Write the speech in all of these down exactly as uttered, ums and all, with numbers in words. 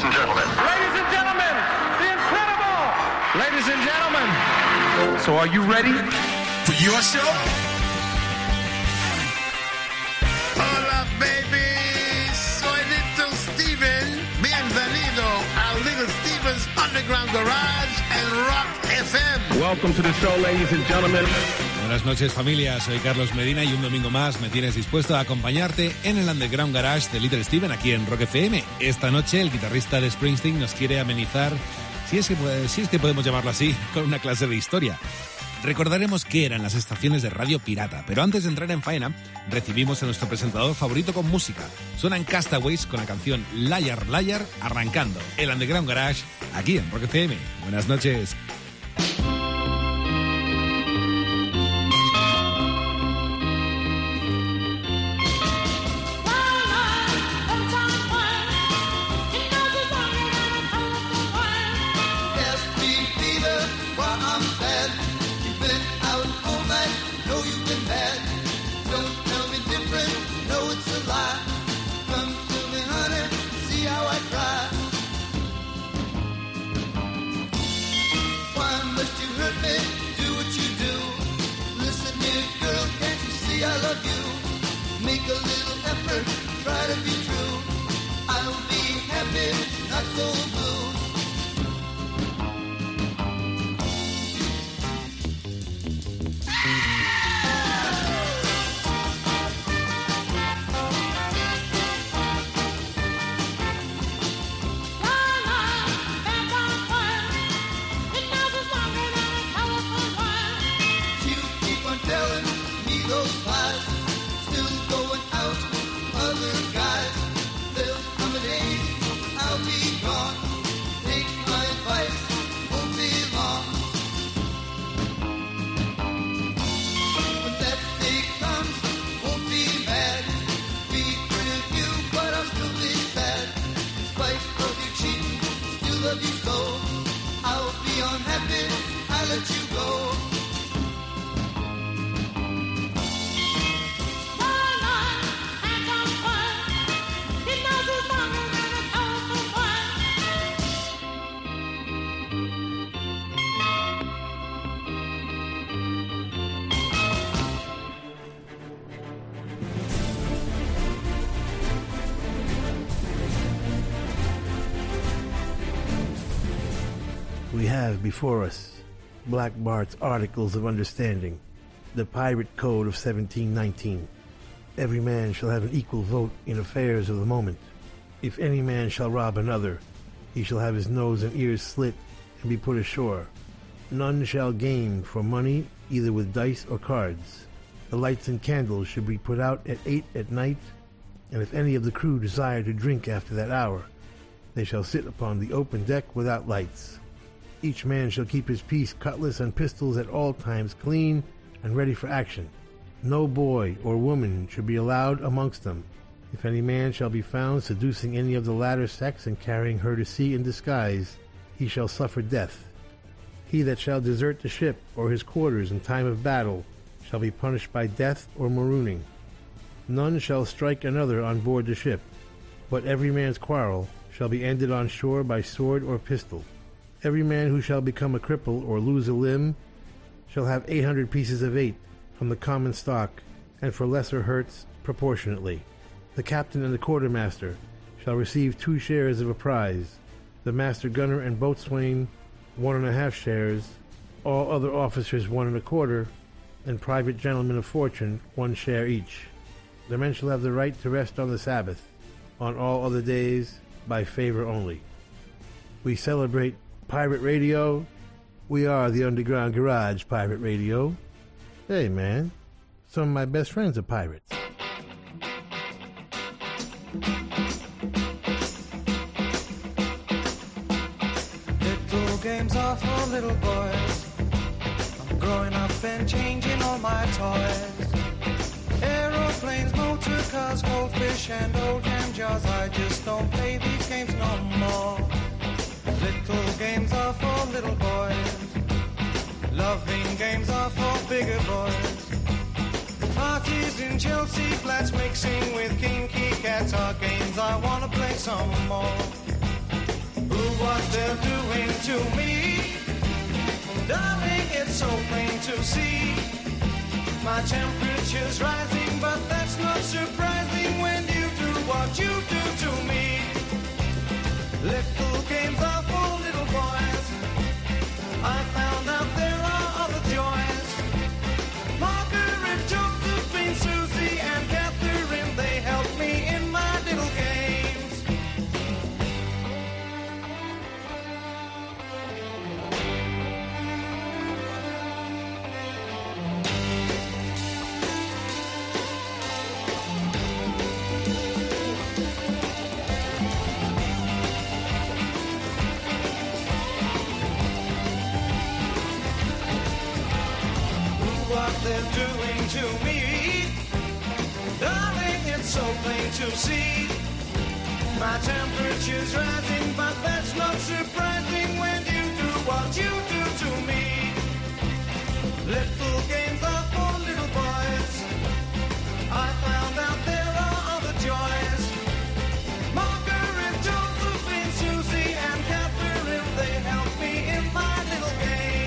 and gentlemen. Ladies and gentlemen, the incredible. Ladies and gentlemen. So are you ready for your show? Hola, baby. Soy Little Steven. Bienvenido a Little Steven's Underground Garage and Rock F M. Welcome to the show, ladies and gentlemen. Buenas noches, familia. Soy Carlos Medina y un domingo más me tienes dispuesto a acompañarte en el Underground Garage de Little Steven aquí en Rock F M. Esta noche el guitarrista de Springsteen nos quiere amenizar, si es que, si es que podemos llamarlo así, con una clase de historia. Recordaremos qué eran las estaciones de radio pirata, pero antes de entrar en faena, recibimos a nuestro presentador favorito con música. Suenan Castaways con la canción Liar Liar, arrancando el Underground Garage aquí en Rock F M. Buenas noches. We have before us Black Bart's Articles of Understanding, the Pirate Code of seventeen nineteen. Every man shall have an equal vote in affairs of the moment. If any man shall rob another, he shall have his nose and ears slit and be put ashore. None shall game for money, either with dice or cards. The lights and candles should be put out at eight at night, and if any of the crew desire to drink after that hour, they shall sit upon the open deck without lights. Each man shall keep his piece, cutlass, and pistols at all times clean and ready for action. No boy or woman should be allowed amongst them. If any man shall be found seducing any of the latter sex and carrying her to sea in disguise, he shall suffer death. He that shall desert the ship or his quarters in time of battle shall be punished by death or marooning. None shall strike another on board the ship, but every man's quarrel shall be ended on shore by sword or pistol. Every man who shall become a cripple or lose a limb shall have eight hundred pieces of eight from the common stock, and for lesser hurts proportionately. The captain and the quartermaster shall receive two shares of a prize, the master gunner and boatswain one and a half shares, all other officers one and a quarter, and private gentlemen of fortune one share each. The men shall have the right to rest on the Sabbath, on all other days by favor only. We celebrate Pirate Radio. We are the Underground Garage Pirate Radio. Hey, man, some of my best friends are pirates. Little games are for little boys. I'm growing up and changing all my toys. Aeroplanes, motor cars, goldfish and old jam jars. I just don't play these games no more. Little games are for little boys. Loving games are for bigger boys. Parties in Chelsea flats mixing with kinky cats are games I wanna play some more. what they're doing to me. Darling, it's so plain to see. My temperature's rising, but that's not surprising when you do what you do to me. Little games are for little boys. I found out there are other joys. Margaret, Josephine, Susie, and Catherine, they help me in my little games. What they're doing to me, darling, it's so plain to see. My temperature's rising, but that's not surprising when you do what you do to me. Little games are for little boys. I found out there are other joys. Margaret, Josephine, Susie, and Catherine, they help me in my little games.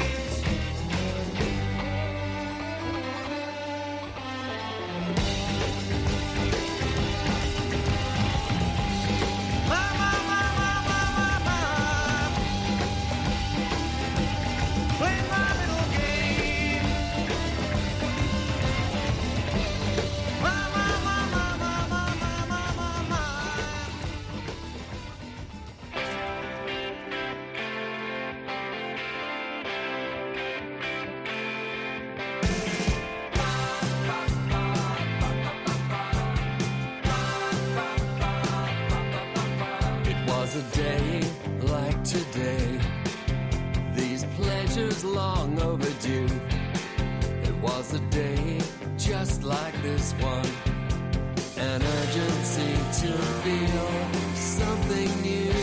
A day like today, these pleasures long overdue. It was a day just like this one, an urgency to feel something new.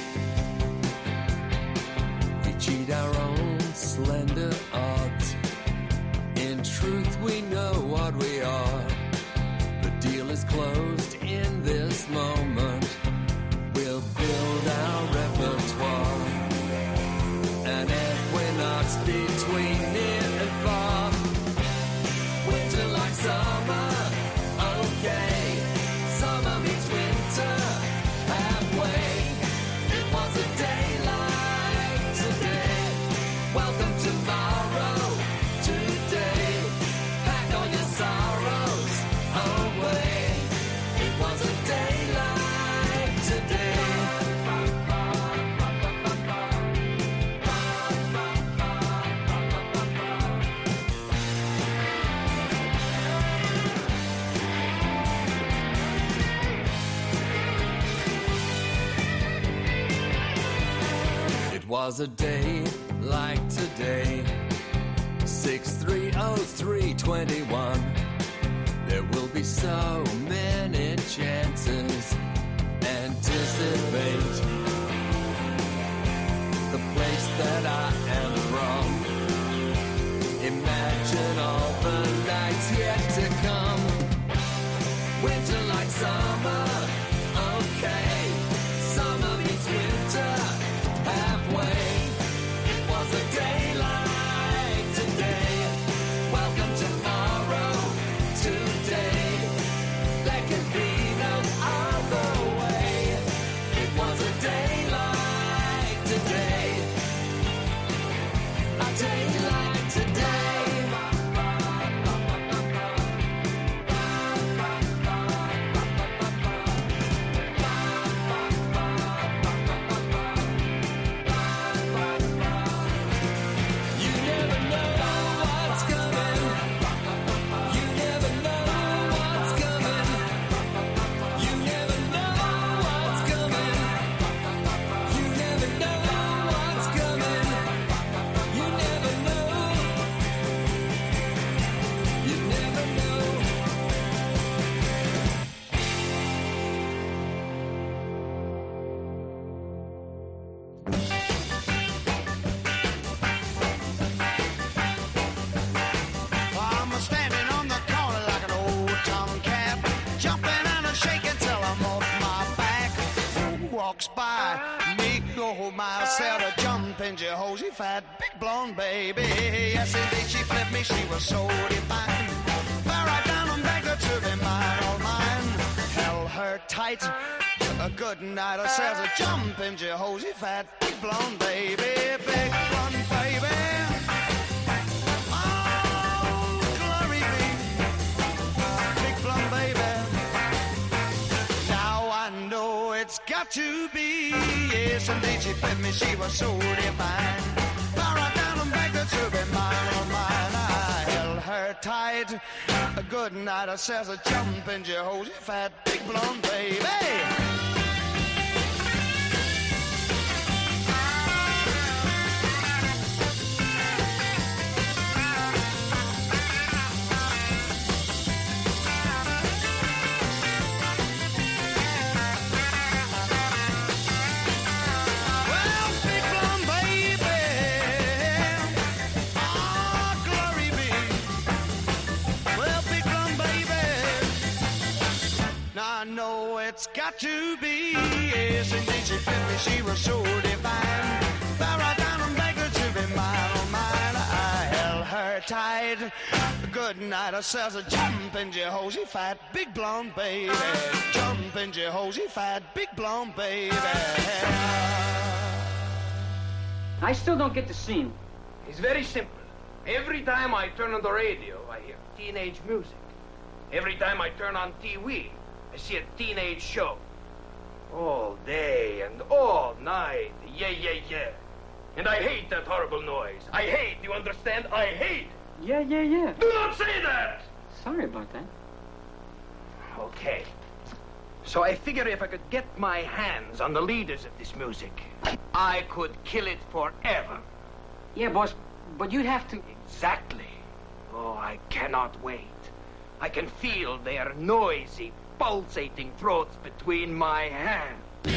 We cheat our own slender odds. In truth, we know what we are. The deal is closed in this moment. We'll build our repertoire, an equinox between near and far. Winter like summer, okay. Summer meets winter, halfway. It was a day like today. Welcome tomorrow, today. Pack all your sorrows away. It was a day like today. It was a day like today, six three oh three twenty-one. There will be so many chances. Anticipate the place that I am from. Imagine all the nights yet to come. Winter like summer, okay. Summer meets winter, halfway. It was a day like today. Welcome tomorrow, today. There can be no other way. It was walks by. Me, oh my, Sarah jumping Jehoshaphat, big blonde baby. Yes, indeed, she flipped me, she was so divine. Fell right down and begged her to be mine, all mine. Held her tight, a good night. I says a jumping Jehoshaphat, big blonde baby, big blonde baby. It's got to be, yes, indeed she fed me, she was so divine. Fell right down and begged her to be mine, oh mine. I held her tight, a good night. I says a jumping Jehoshaphat, big blonde baby. I know it's got to be, yes, indeed she fit me, she was so divine. Fell right down and begged her to be mine, oh mine. I held her tight, good night. I says a jumping Jehoshaphat, big blonde baby. Jumping Jehoshaphat, big blonde baby. I still don't get the scene. It's very simple. Every time I turn on the radio, I hear teenage music. Every time I turn on T V, I see a teenage show. All day and all night. Yeah, yeah, yeah. And I hate that horrible noise. I hate, you understand? I hate. Yeah, yeah, yeah. Do not say that! Sorry about that. Okay. So I figure if I could get my hands on the leaders of this music, I could kill it forever. Yeah, boss, but you'd have to... Exactly. Oh, I cannot wait. I can feel their noisy, pulsating throats between my hands.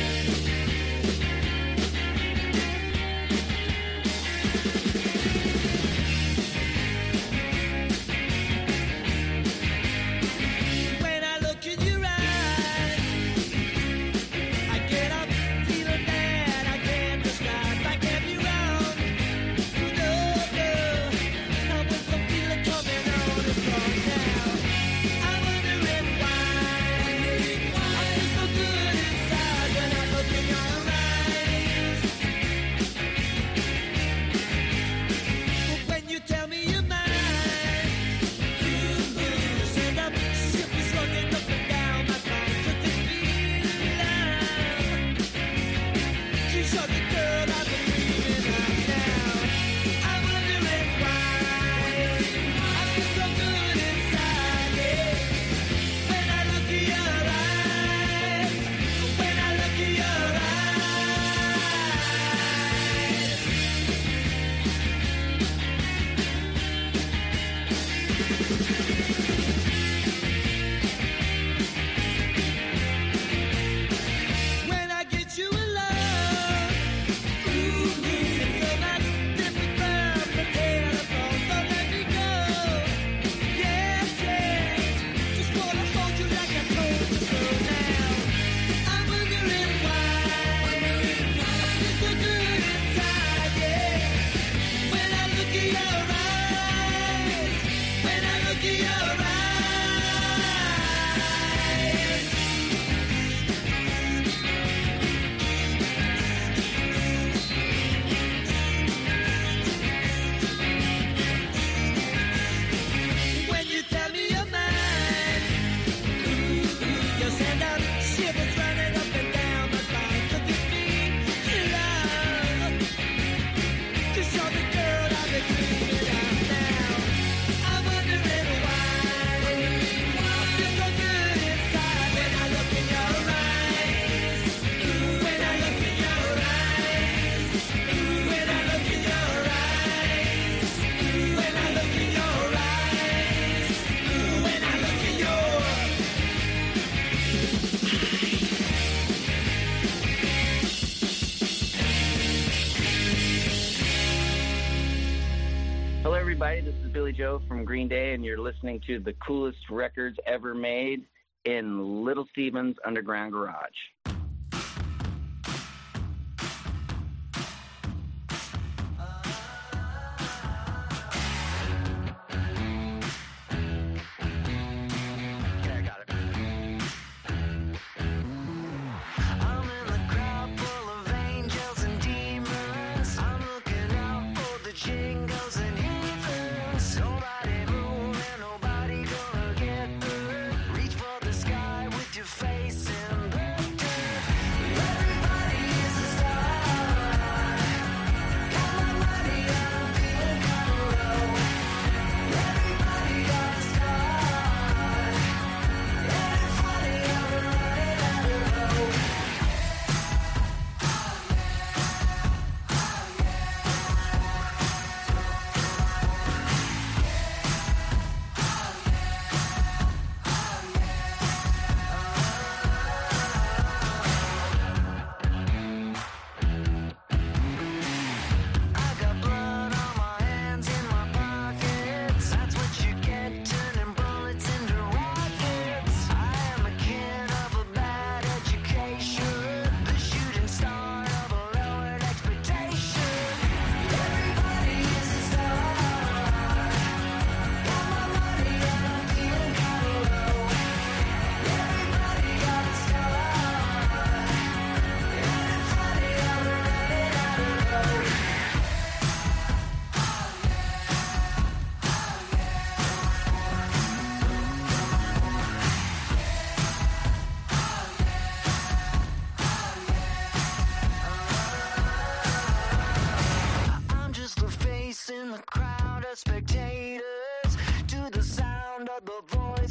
When I look in your eyes, I get up feeling that I can't describe. I can't be wrong. You know, girl, now with the feeling coming on and strong now. I'm wondering why I feel so good inside when I look in your eyes. But when you tell me you're mine, you send up ship is running up and down my spine. Could this be love? She's such a girl I've been dreaming of now. I'm wondering why I feel so good inside, yeah. When I look in your eyes, when I look in your eyes. When I get you in love, ooh, it's so much different from the telephone. Don't let me go. Yes, yes, just wanna hold you like I told you so now. I'm wondering why I feel so good inside, yeah. When I look in your eyes, when I look in your eyes. When you tell me you're mine, you send out shivers running up and down my spine. Could this be love? 'Cause you're the girl I've been dreaming of now. I'm wondering why I feel so good inside when I look in your eyes. When I look in your eyes. When I look in your eyes. When I look in your eyes. When I look in your Hello, everybody. This is Billy Joe from Green Day, and you're listening to the coolest records ever made in Little Steven's Underground Garage.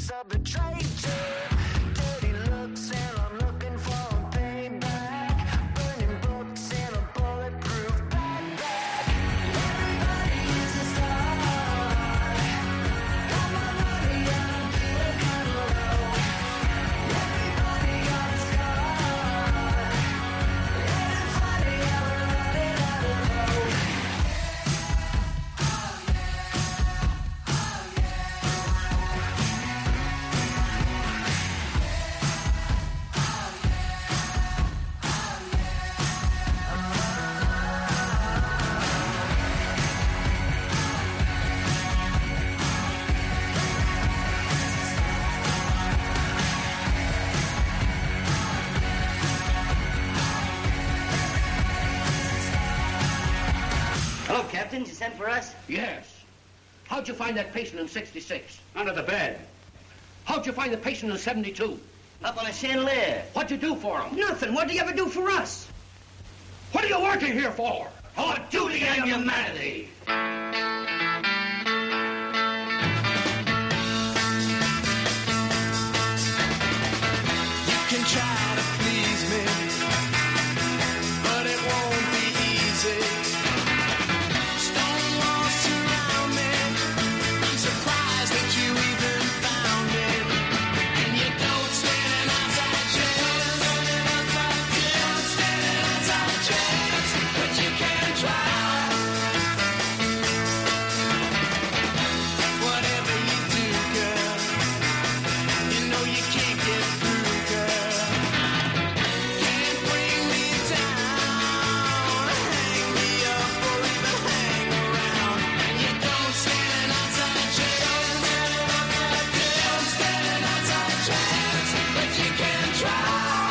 secrets of the traitor. Dirty looks and I'm looking for a payback. Burning books and a bulletproof backpack. Everybody is a star. Got my money and I'm feeling kind of low. Everybody got a scar. And it's funny how we're running out of hope. Hello, Captain. You sent for us? Yes. How'd you find that patient in sixty-six? Under the bed. How'd you find the patient in seventy-two? Up on a chandelier. What'd you do for him? Nothing. What do you ever do for us? What are you working here for? For duty and humanity. You can try to please me, but it won't be easy. Stone walls surround me. I'm surprised that you even found me. And you don't stand an outside chance. Don't stand an outside chance, but you can try. Whatever you do, girl, you know you can't get through, girl. Can't bring me down, hang me up, or even hang around. And you don't stand an outside chance. Don't stand an outside chance, but you can try.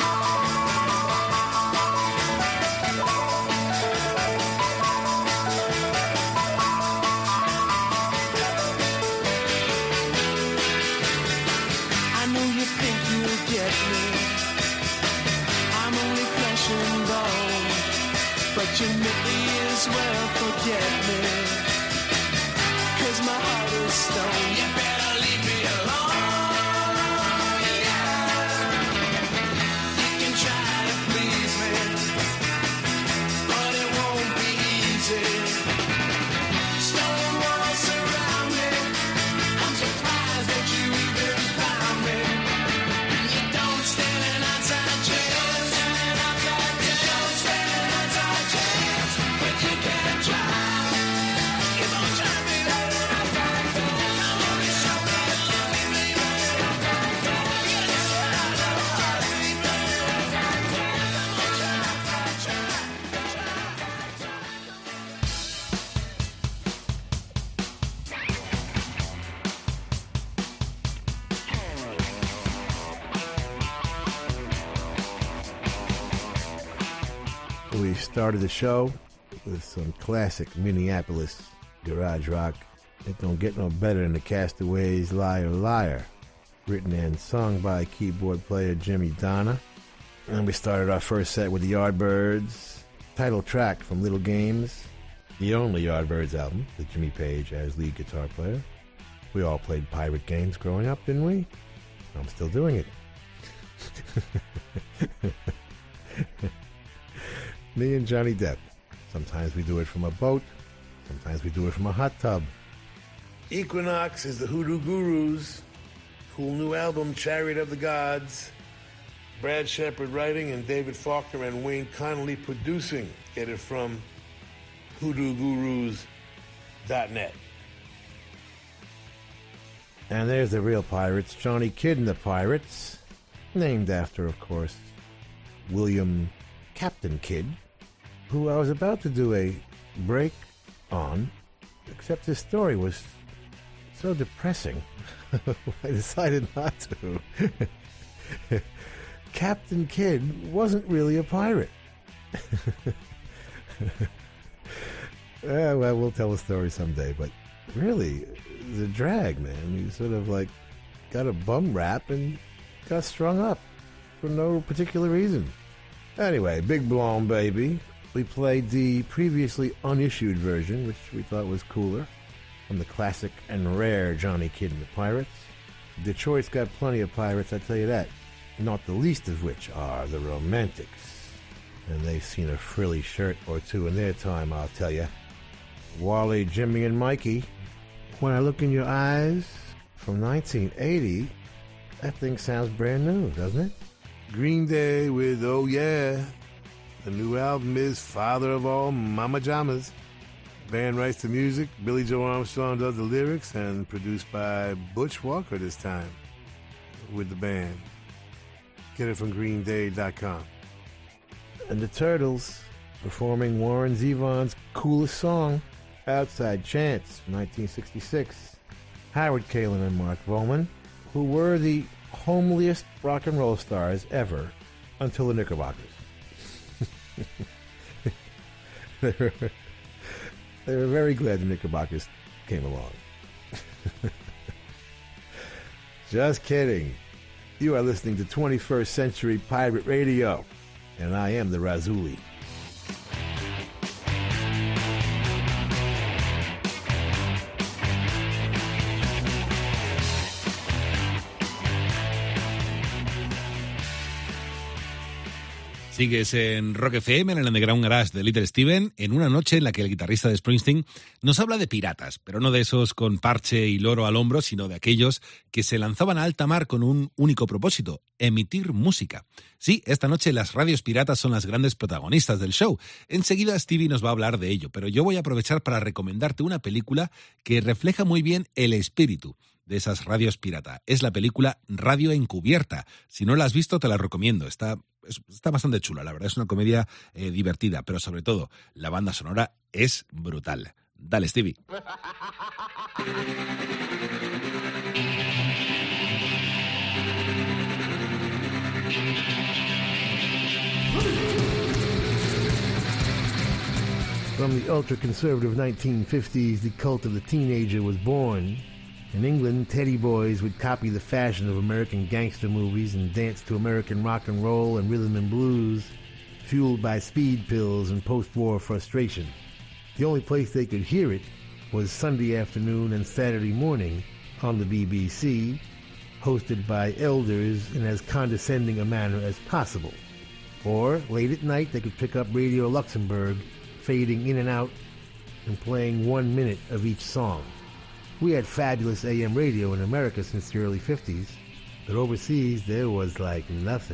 I know you think you'll get me. I'm only flesh and bone, but you may as well forget me. 'Cause my heart is stone. You better leave me alone. Yeah. You can try to please me, but it won't be easy. Stone walls surround me. I'm surprised that you even found me. And you don't stand an outside chance. Don't stand an outside chance, but you can try. Keep on trying, baby. Come on and show me you love me, baby. Yes, I love you, baby. Come on, try, try, try, We started the show with some classic Minneapolis garage rock. It don't get no better than the Castaways' Liar Liar, written and sung by keyboard player Jimmy Donna. And we started our first set with the Yardbirds, title track from Little Games, the only Yardbirds album, with Jimmy Page as lead guitar player. We all played pirate games growing up, didn't we? I'm still doing it. Me and Johnny Depp. Sometimes we do it from a boat. Sometimes we do it from a hot tub. Equinox is the Hoodoo Gurus. Cool new album, Chariot of the Gods. Brad Shepard writing and David Faulkner and Wayne Connolly producing. Get it from hoodoo gurus dot net. And there's the real pirates, Johnny Kidd and the Pirates. Named after, of course, William Captain Kidd, who I was about to do a break on, except his story was so depressing, I decided not to. Captain Kidd wasn't really a pirate. Yeah, well, we'll tell a story someday, but really, the drag, man. You sort of like got a bum rap and got strung up for no particular reason. Anyway, Big Blonde Baby. We played the previously unissued version, which we thought was cooler, from the classic and rare Johnny Kidd and the Pirates. Detroit's got plenty of pirates, I tell you that. Not the least of which are the Romantics. And they've seen a frilly shirt or two in their time, I'll tell you. Wally, Jimmy, and Mikey. When I look in your eyes, from nineteen eighty, that thing sounds brand new, doesn't it? Green Day with Oh Yeah. The new album is Father of All Mama Jamas. Band writes the music, Billy Joe Armstrong does the lyrics, and produced by Butch Walker this time with the band. Get it from green day dot com. And the Turtles performing Warren Zevon's coolest song, Outside Chance, nineteen sixty-six. Howard Kaylan and Mark Volman, who were the homeliest rock and roll stars ever until the Knickerbockers. they, were, they were very glad the Knickerbockers came along. Just kidding. You are listening to twenty-first Century Pirate Radio, and I am the Razuli. Sigues en Rock F M, en el Underground Garage de Little Steven, en una noche en la que el guitarrista de Springsteen nos habla de piratas, pero no de esos con parche y loro al hombro, sino de aquellos que se lanzaban a alta mar con un único propósito: emitir música. Sí, esta noche las radios piratas son las grandes protagonistas del show. Enseguida Stevie nos va a hablar de ello, pero yo voy a aprovechar para recomendarte una película que refleja muy bien el espíritu de esas radios pirata. Es la película Radio Encubierta. Si no la has visto, te la recomiendo. Está, está bastante chula, la verdad. Es una comedia eh, divertida, pero sobre todo, la banda sonora es brutal. Dale, Stevie. From the ultra-conservative nineteen fifties, the cult of the teenager was born. In England, teddy boys would copy the fashion of American gangster movies and dance to American rock and roll and rhythm and blues, fueled by speed pills and post-war frustration. The only place they could hear it was Sunday afternoon and Saturday morning on the B B C, hosted by elders in as condescending a manner as possible. Or, late at night, they could pick up Radio Luxembourg, fading in and out and playing one minute of each song. We had fabulous A M radio in America since the early fifties, but overseas there was like nothing.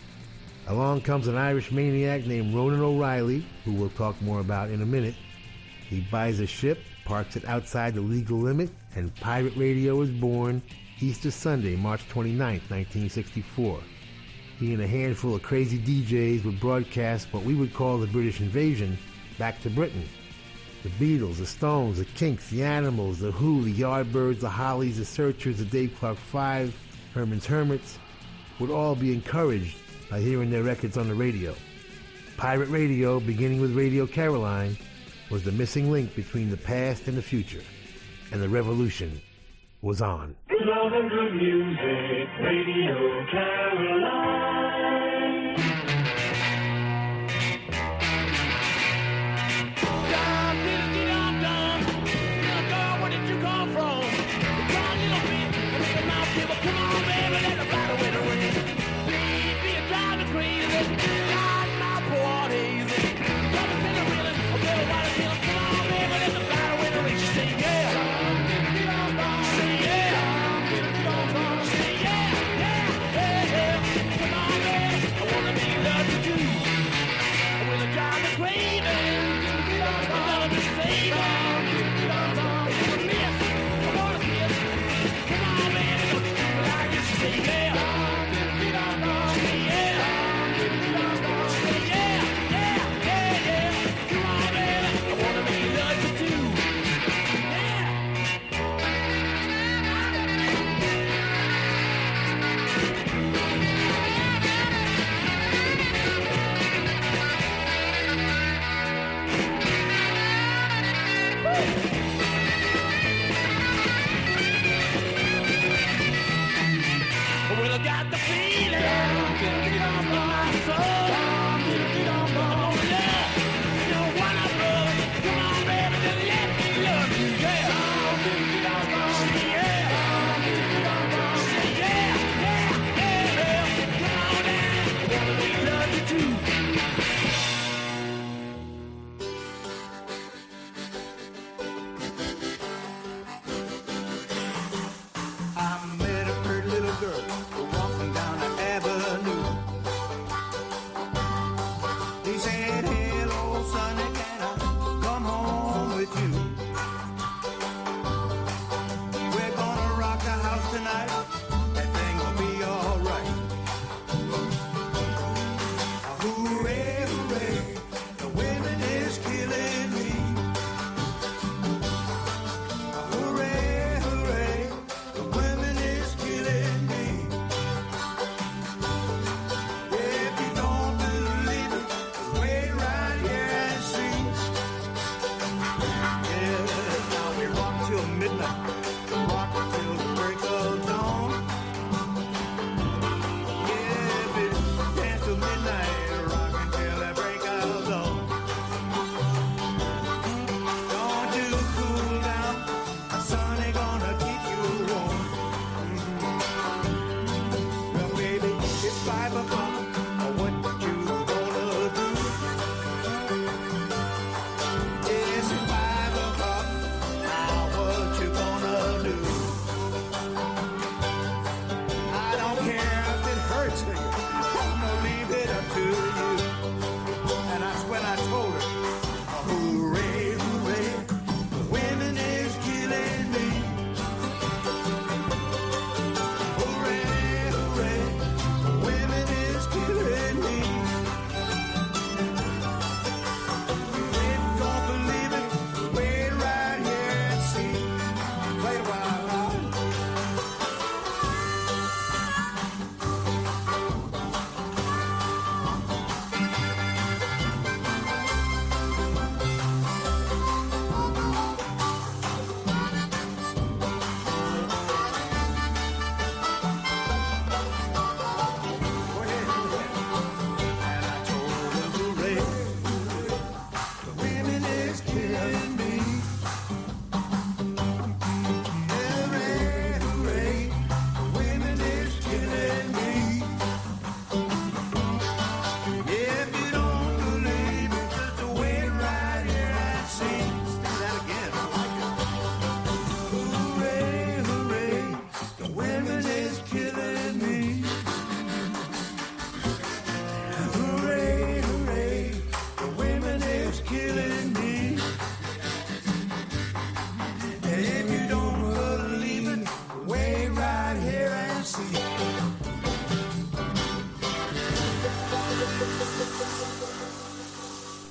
Along comes an Irish maniac named Ronan O'Reilly, who we'll talk more about in a minute. He buys a ship, parks it outside the legal limit, and pirate radio is born Easter Sunday, March twenty-ninth, nineteen sixty-four. He and a handful of crazy D Js would broadcast what we would call the British invasion back to Britain. The Beatles, the Stones, the Kinks, the Animals, the Who, the Yardbirds, the Hollies, the Searchers, the Dave Clark Five, Herman's Hermits, would all be encouraged by hearing their records on the radio. Pirate radio, beginning with Radio Caroline, was the missing link between the past and the future, and the revolution was on. Good love and good music, Radio Caroline. Come on.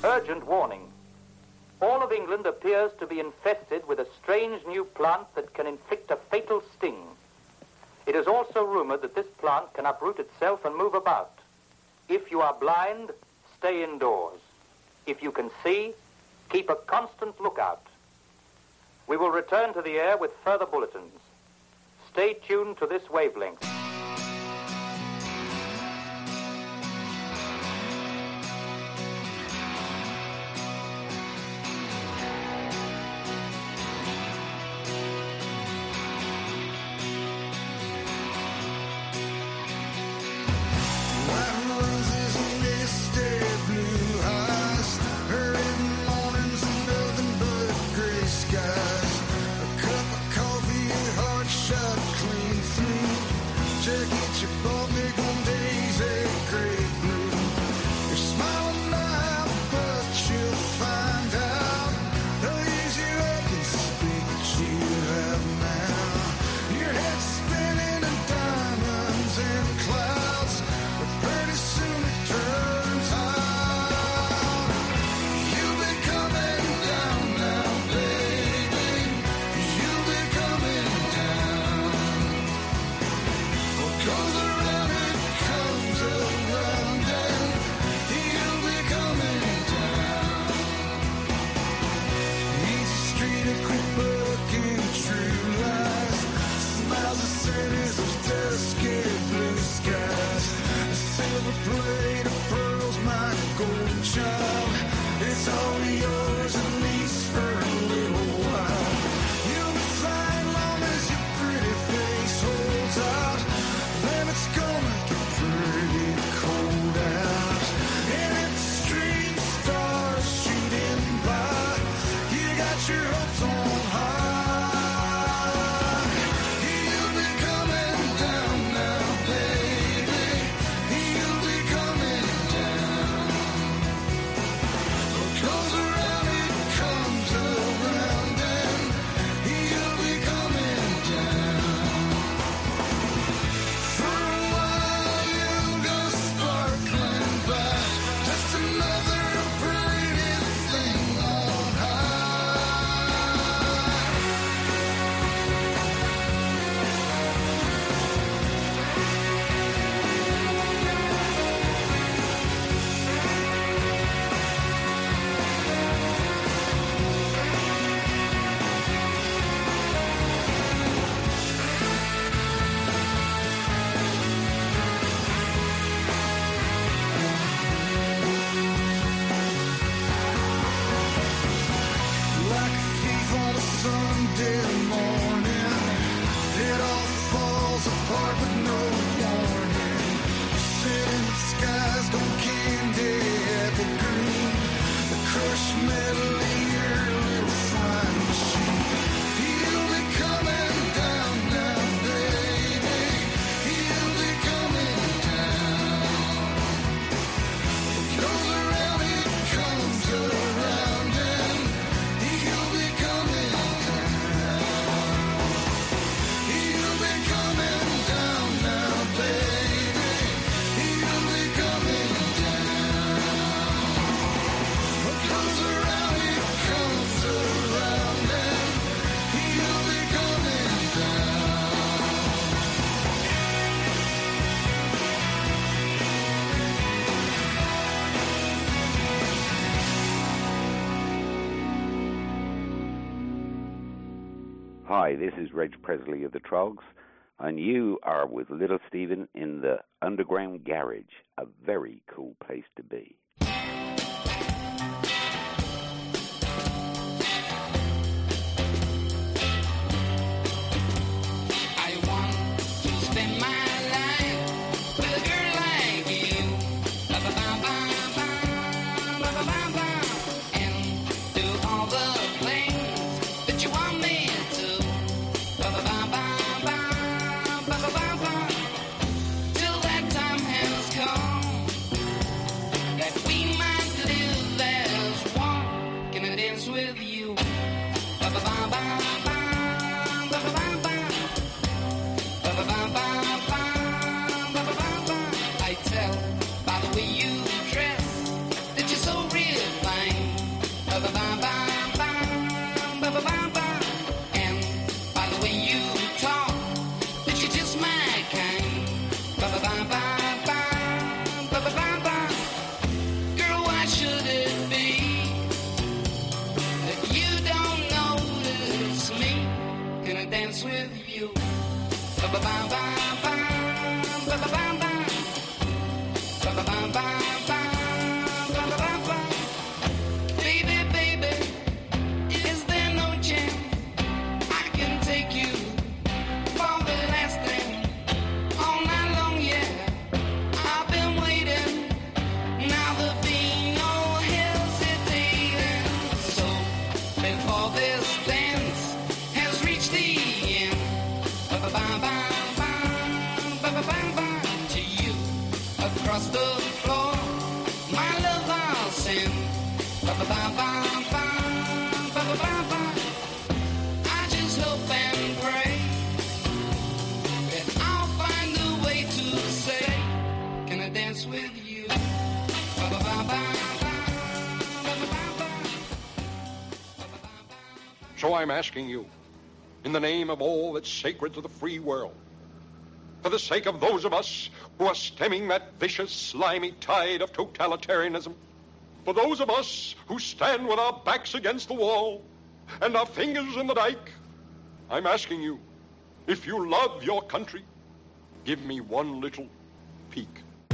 Urgent warning. All of England appears to be infested with a strange new plant that can inflict a fatal sting. It is also rumored that this plant can uproot itself and move about. If you are blind, stay indoors. If you can see, keep a constant lookout. We will return to the air with further bulletins. Stay tuned to this wavelength. Hi, this is Reg Presley of the Trogs, and you are with Little Steven in the Underground Garage, a very cool place to be. Till that time has come that we might live Baby, baby, is there no chance I can take you for the last thing all night long? Yeah, I've been waiting. Now there'll be no hesitating. So before this dance has reached the end, ba-ba-ba-ba-ba, to you across the floor, my love I'll send. Ba-ba-ba-ba-ba, ba-ba-ba-ba. I just hope and pray that I'll find a way to say, can I dance with you? Ba-ba-ba-ba, ba-ba-ba-ba. So I'm asking you, in the name of all that's sacred to the free world, for the sake of those of us who are stemming that vicious, slimy tide of totalitarianism, for those of us who stand with our backs against the wall and our fingers in the dike, I'm asking you, if you love your country, give me one little peek.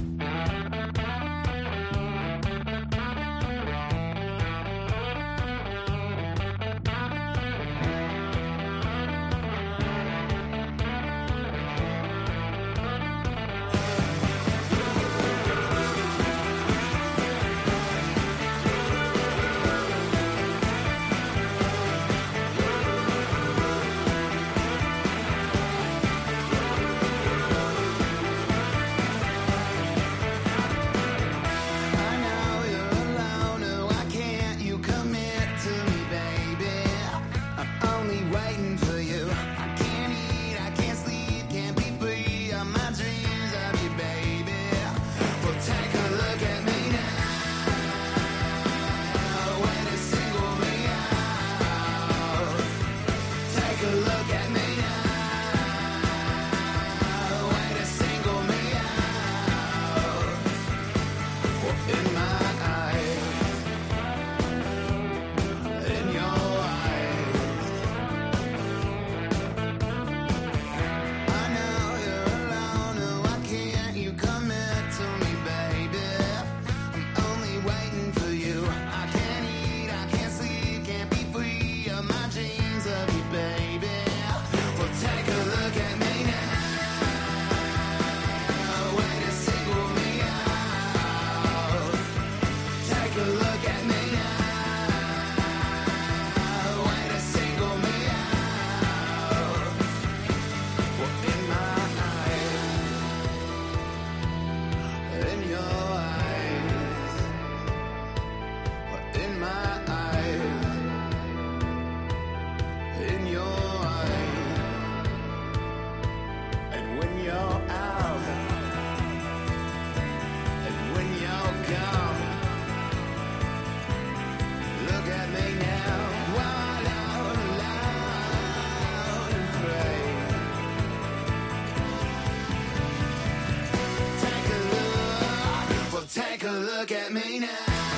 Take a look at me now.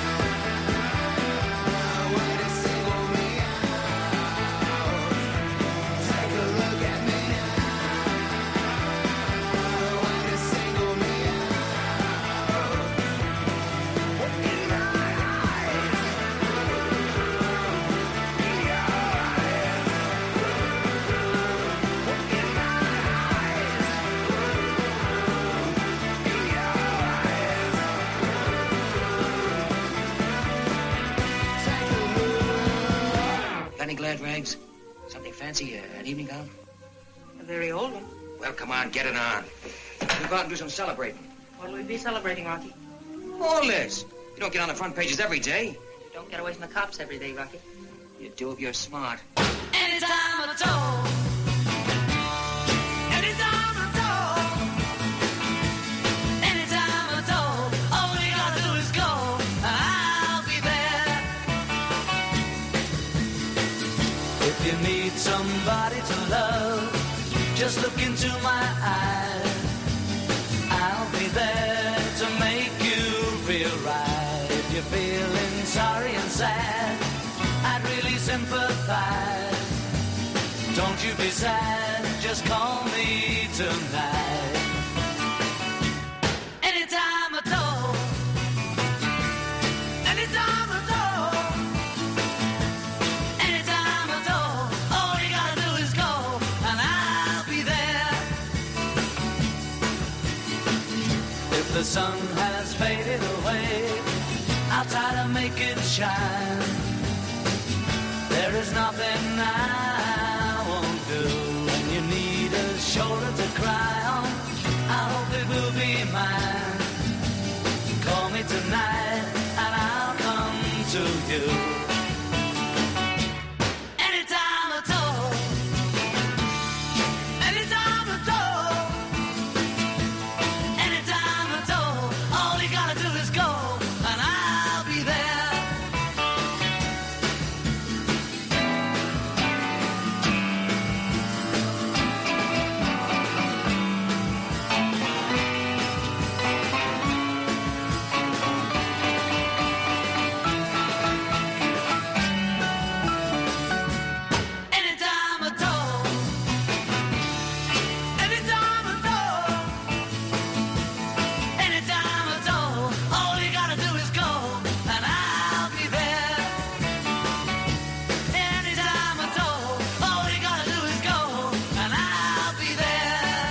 Any glad rags? Something fancy, uh, an evening gown? A very old one. Well, come on, get it on. We'll go out and do some celebrating. What'll we be celebrating, Rocky? All this. You don't get on the front pages every day. You don't get away from the cops every day, Rocky. You do if you're smart. Anytime at all. Anytime at all. Anytime at all. All we gotta do is go. I'll be there. If you need somebody to love, just look into my eyes. I'll be there to make you feel right. If you're feeling sorry and sad, I'd really sympathize. Don't you be sad, just call me tonight. Anytime at all, anytime at all, anytime at all, all you gotta do is call and I'll be there. If the sun has faded away, I'll try to make it shine. There is nothing I won't do. When you need a shoulder to cry on, I hope it will be mine. Call me tonight and I'll come to you. Anytime at all, anytime at all, anytime at all, all you gotta do is go and I'll be there. Anytime at all, anytime at all, anytime at all, all you gotta do is go and I'll be there. Anytime at all, all you gotta do is go and I'll be there.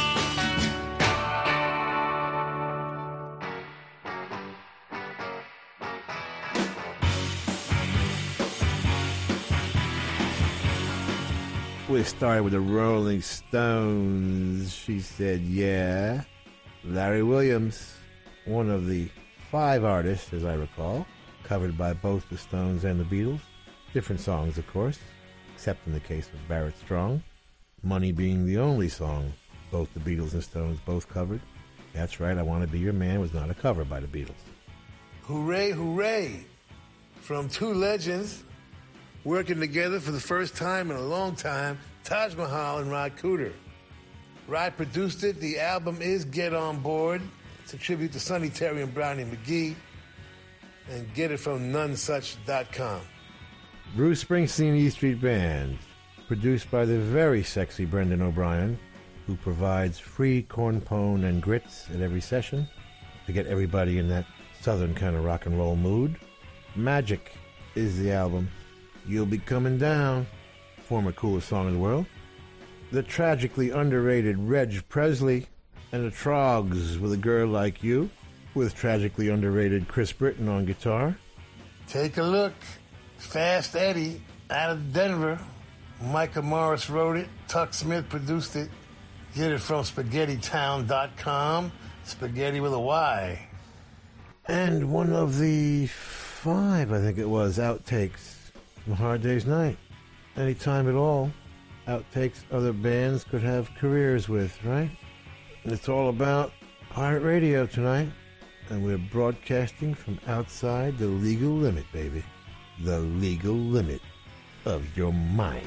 We started with the Rolling Stones. She said, yeah. Larry Williams, one of the five artists, as I recall, covered by both the Stones and the Beatles. Different songs, of course, except in the case of Barrett Strong. Money being the only song both the Beatles and Stones both covered. That's right, I Want to Be Your Man was not a cover by the Beatles. Hooray, hooray! From two legends working together for the first time in a long time, Taj Mahal and Rod Cooder. Rod produced it. The album is Get On Board. It's a tribute to Sonny Terry and Brownie McGee. And get it from none such dot com. Bruce Springsteen E Street Band, produced by the very sexy Brendan O'Brien, who provides free corn pone and grits at every session to get everybody in that southern kind of rock and roll mood. Magic is the album. You'll Be Coming Down, former coolest song in the world. The tragically underrated Reg Presley and the Trogs with A Girl Like You, with tragically underrated Chris Britton on guitar. Take a look. Fast Eddie out of Denver. Micah Morris wrote it. Tuck Smith produced it. Get it from spaghetti town dot com. Spaghetti with a Y. And one of the five, I think it was, outtakes from Hard Day's Night. Anytime at all, outtakes other bands could have careers with, right? And it's all about pirate radio tonight. And we're broadcasting from outside the legal limit, baby. The legal limit of your mind.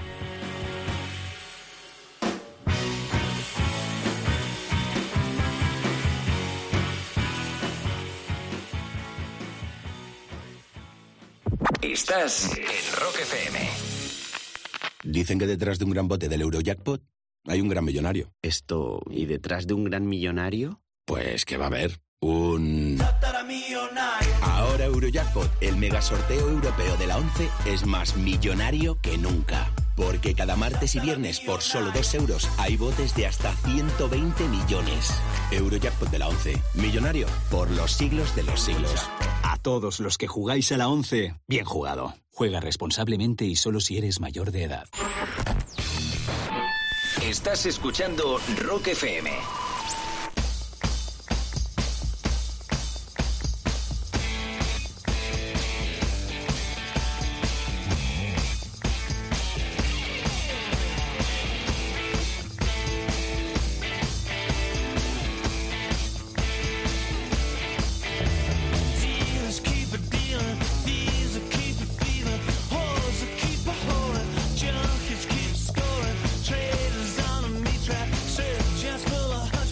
Estás en Rock F M. Dicen que detrás de un gran bote del Eurojackpot hay un gran millonario. Esto, ¿y detrás de un gran millonario? Pues que va a haber un... Ahora Eurojackpot, el mega sorteo europeo de la once, es más millonario que nunca. Porque cada martes y viernes por solo dos euros hay botes de hasta ciento veinte millones. Eurojackpot de la once, millonario por los siglos de los siglos. A todos los que jugáis a la once, bien jugado. Juega responsablemente y solo si eres mayor de edad. Estás escuchando Rock F M. Junkies keep scoring, traders on a meat track, just full of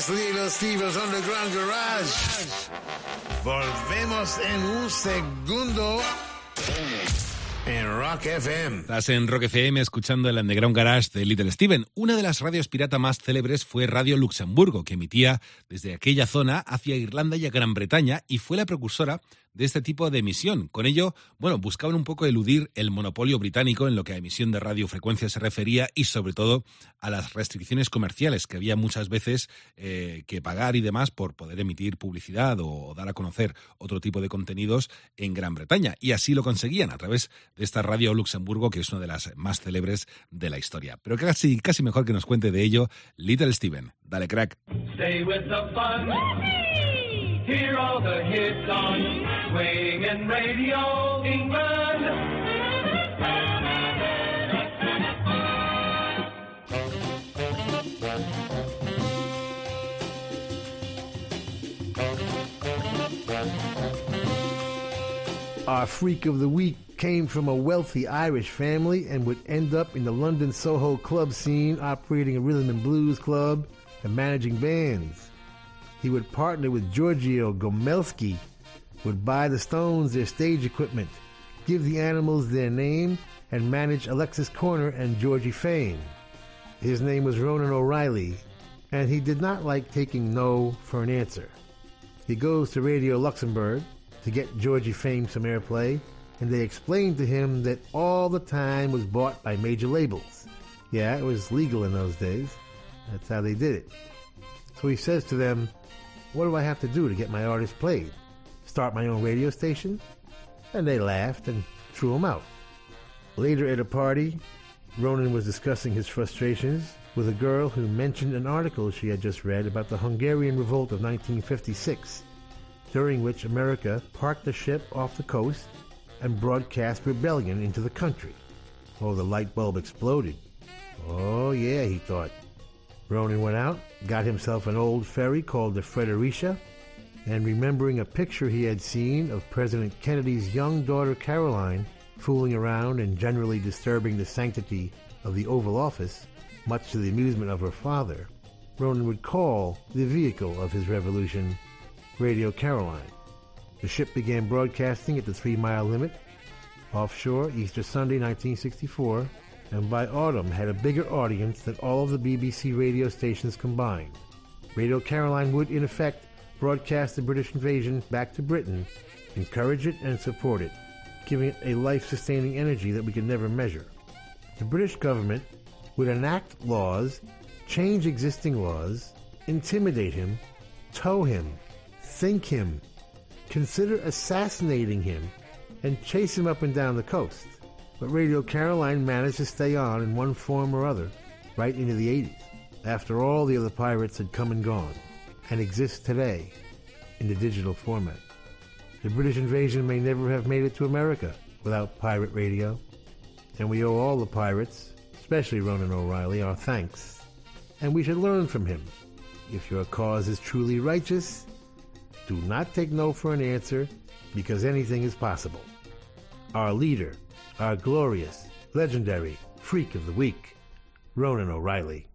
Yes, Little Steve's Underground Garage. Volvemos en un segundo en Rock F M. Estás en Rock F M escuchando el Underground Garage de Little Steven. Una de las radios pirata más célebres fue Radio Luxemburgo, que emitía desde aquella zona hacia Irlanda y a Gran Bretaña y fue la precursora de este tipo de emisión. Con ello, bueno, buscaban un poco eludir el monopolio británico en lo que a emisión de radiofrecuencia se refería y sobre todo a las restricciones comerciales que había muchas veces eh, que pagar y demás por poder emitir publicidad o dar a conocer otro tipo de contenidos en Gran Bretaña. Y así lo conseguían a través de esta Radio Luxemburgo, que es una de las más célebres de la historia. Pero casi, casi mejor que nos cuente de ello Little Steven. Dale, crack. Stay with the fun. Hear all the hits on Swing and Radio England. Our freak of the week came from a wealthy Irish family and would end up in the London Soho club scene, operating a rhythm and blues club and managing bands. He would partner with Giorgio Gomelski, would buy the Stones their stage equipment, give the Animals their name, and manage Alexis Corner and Georgie Fame. His name was Ronan O'Reilly, and he did not like taking no for an answer. He goes to Radio Luxembourg to get Georgie Fame some airplay, and they explained to him that all the time was bought by major labels. Yeah, it was legal in those days. That's how they did it. So he says to them, what do I have to do to get my artist played? Start my own radio station? And they laughed and threw him out. Later at a party, Ronan was discussing his frustrations with a girl who mentioned an article she had just read about the Hungarian Revolt of nineteen fifty-six, during which America parked the ship off the coast and broadcast rebellion into the country. Oh, the light bulb exploded. Oh, yeah, he thought. Ronan went out, got himself an old ferry called the Fredericia, and remembering a picture he had seen of President Kennedy's young daughter Caroline fooling around and generally disturbing the sanctity of the Oval Office, much to the amusement of her father, Ronan would call the vehicle of his revolution Radio Caroline. The ship began broadcasting at the three-mile limit, offshore Easter Sunday, nineteen sixty-four, and by autumn had a bigger audience than all of the B B C radio stations combined. Radio Caroline would, in effect, broadcast the British invasion back to Britain, encourage it and support it, giving it a life-sustaining energy that we could never measure. The British government would enact laws, change existing laws, intimidate him, tow him, think him, consider assassinating him, and chase him up and down the coast. But Radio Caroline managed to stay on in one form or other right into the eighties, after all the other pirates had come and gone, and exist today in the digital format. The British invasion may never have made it to America without pirate radio, and we owe all the pirates, especially Ronan O'Reilly, our thanks. And we should learn from him. If your cause is truly righteous, do not take no for an answer, because anything is possible. Our leader, our glorious, legendary freak of the week, Ronan O'Reilly.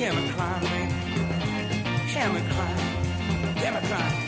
Hear me cry, baby. Hear me cry. Hear me cry.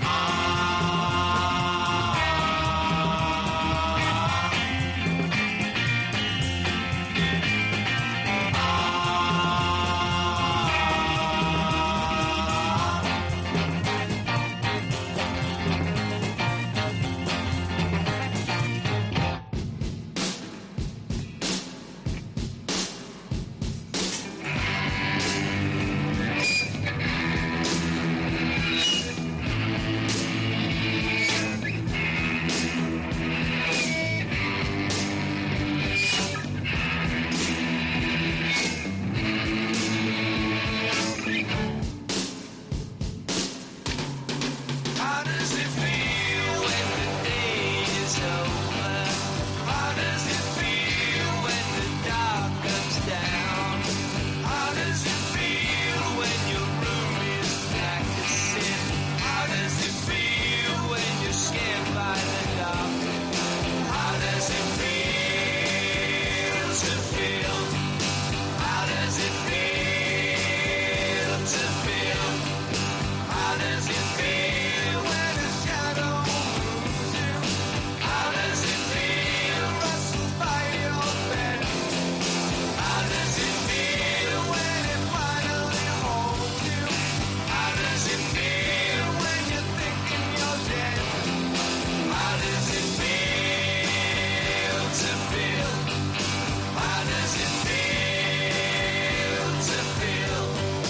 How does it feel when the day is over? How does it feel when the dark comes down? How does it feel when your room is practicing? How does it feel when you're scared by the dark? How does it feel to feel? How does it feel to feel? How does it feel when a shadow moves you? How does it feel rustled by your bed? How does it feel when it finally holds you? How does it feel when you're thinking you're dead? How does it feel to feel? How does it feel to feel?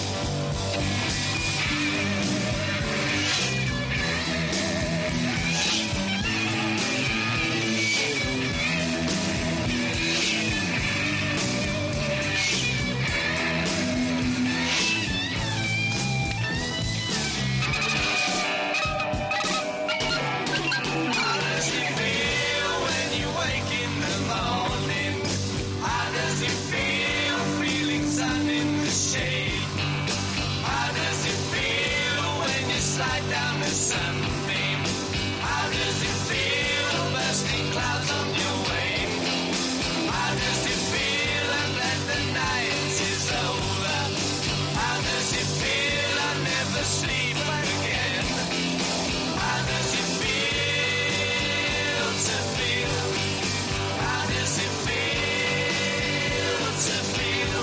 How does it feel when you wake in the morning? How does it feel feeling sun in the shade? How does it feel when you slide down the sunbeam? How does it feel bursting clouds on your way? How does it feel that the night is over? How does it feel I never sleep again? How does it feel to feel? How does it feel to feel?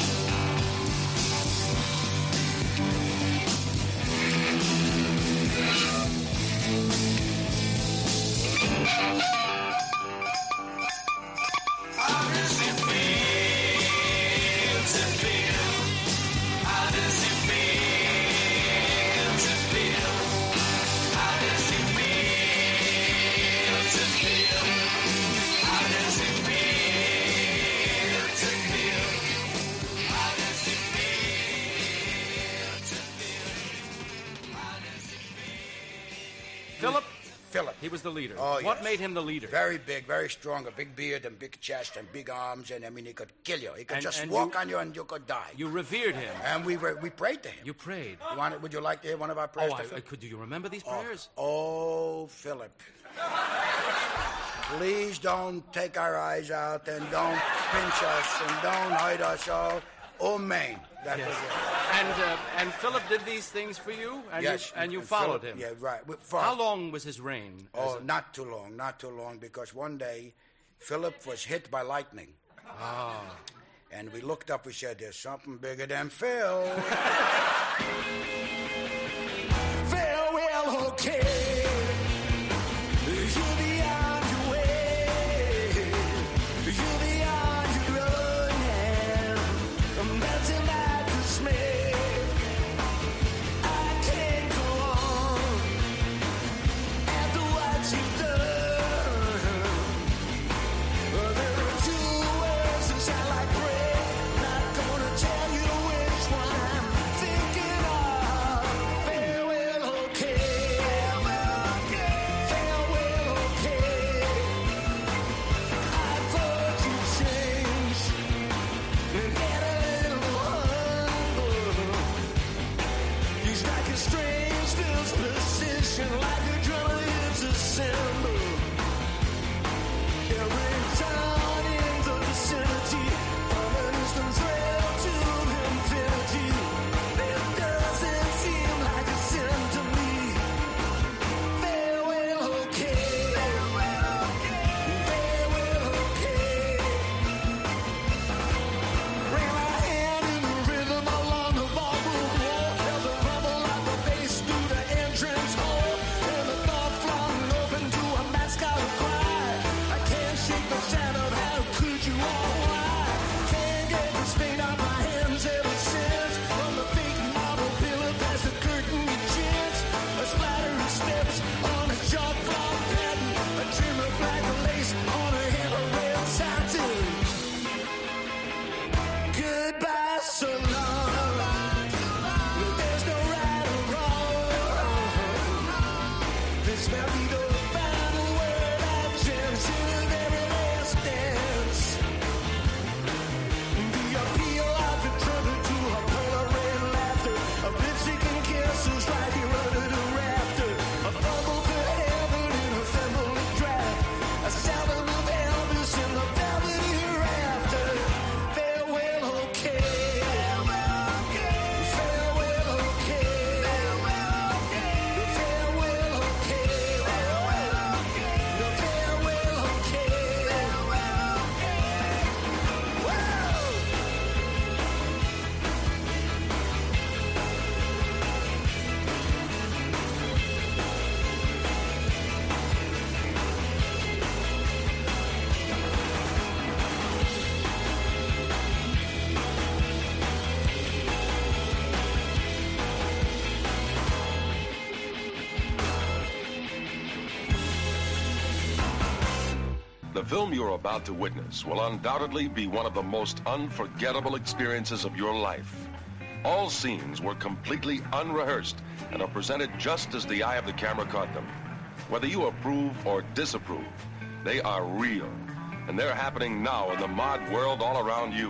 How does it feel to feel? How does it feel to feel? How does it feel to feel? How does it feel to feel? How does it feel to feel? How does it Philip? Philip. He was the leader. Oh, What yes. made him the leader? Very big, very strong, a big beard and big chest and big arms, and I mean, he could kill you. He could And- just and walk you- on you and you could die. You revered him. And we were, we prayed to him. You prayed. You want, would you like to hear one of our prayers? Oh, to I, I Philip? could. Do you remember these Oh, prayers? Oh, Philip. Please don't take our eyes out and don't pinch us and don't hurt us all. Oh, man. That Yes. was it. And uh, and Philip did these things for you, and Yes, you, and you and followed Philip- him. yeah, right. We- for- How long was his reign? as Oh, a- not too long, not too long, because one day Philip was hit by lightning. Ah. And we looked up, we said, there's something bigger than Phil. Farewell, okay. You'll be on your way. You'll be on your own now. I'm melting at the smell. I can't go on after what you've done. There are two words that sound like prayer. Not gonna tell you which one I'm thinking of. Farewell, okay. film you're about to witness will undoubtedly be one of the most unforgettable experiences of your life. All scenes were completely unrehearsed and are presented just as the eye of the camera caught them. Whether you approve or disapprove, they are real, and they're happening now in the mod world all around you.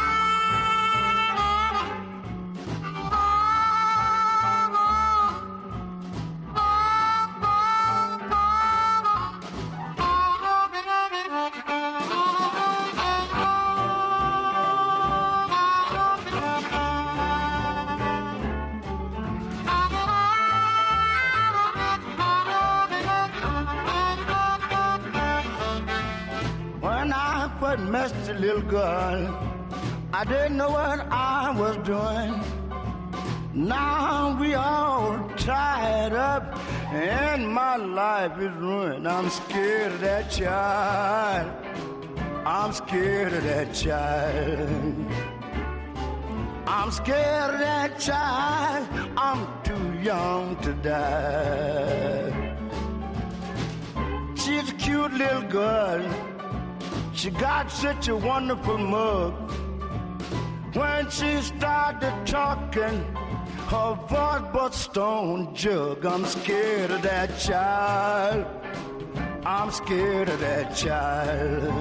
Met the little girl, I didn't know what I was doing. Now we all tied up and my life is ruined. I'm scared of that child. I'm scared of that child. I'm scared of that child. I'm too young to die. She's a cute little girl. She got such a wonderful mug. When she started talking, her voice was stone jug. I'm scared of that child. I'm scared of that child.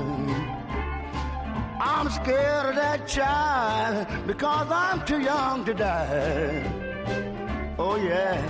I'm scared of that child because I'm too young to die. Oh yeah.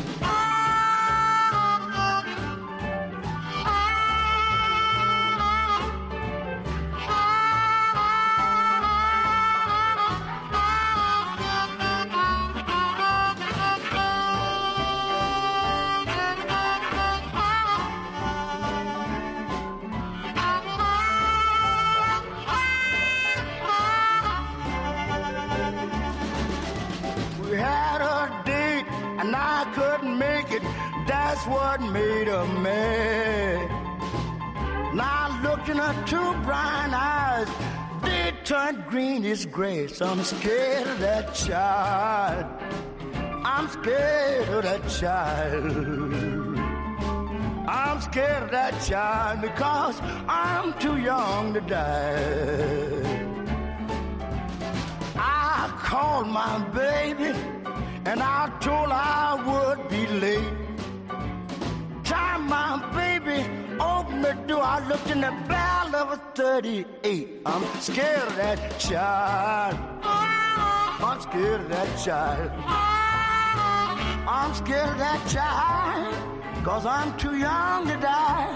And I couldn't make it, that's what made her mad. Now look in her two brown eyes, they turned green as grass. I'm scared of that child. I'm scared of that child. I'm scared of that child because I'm too young to die. I called my baby and I told her I would be late. Time my baby opened the door, I looked in the barrel of a thirty-eight. I'm scared of that child. I'm scared of that child. I'm scared of that child, cause I'm too young to die.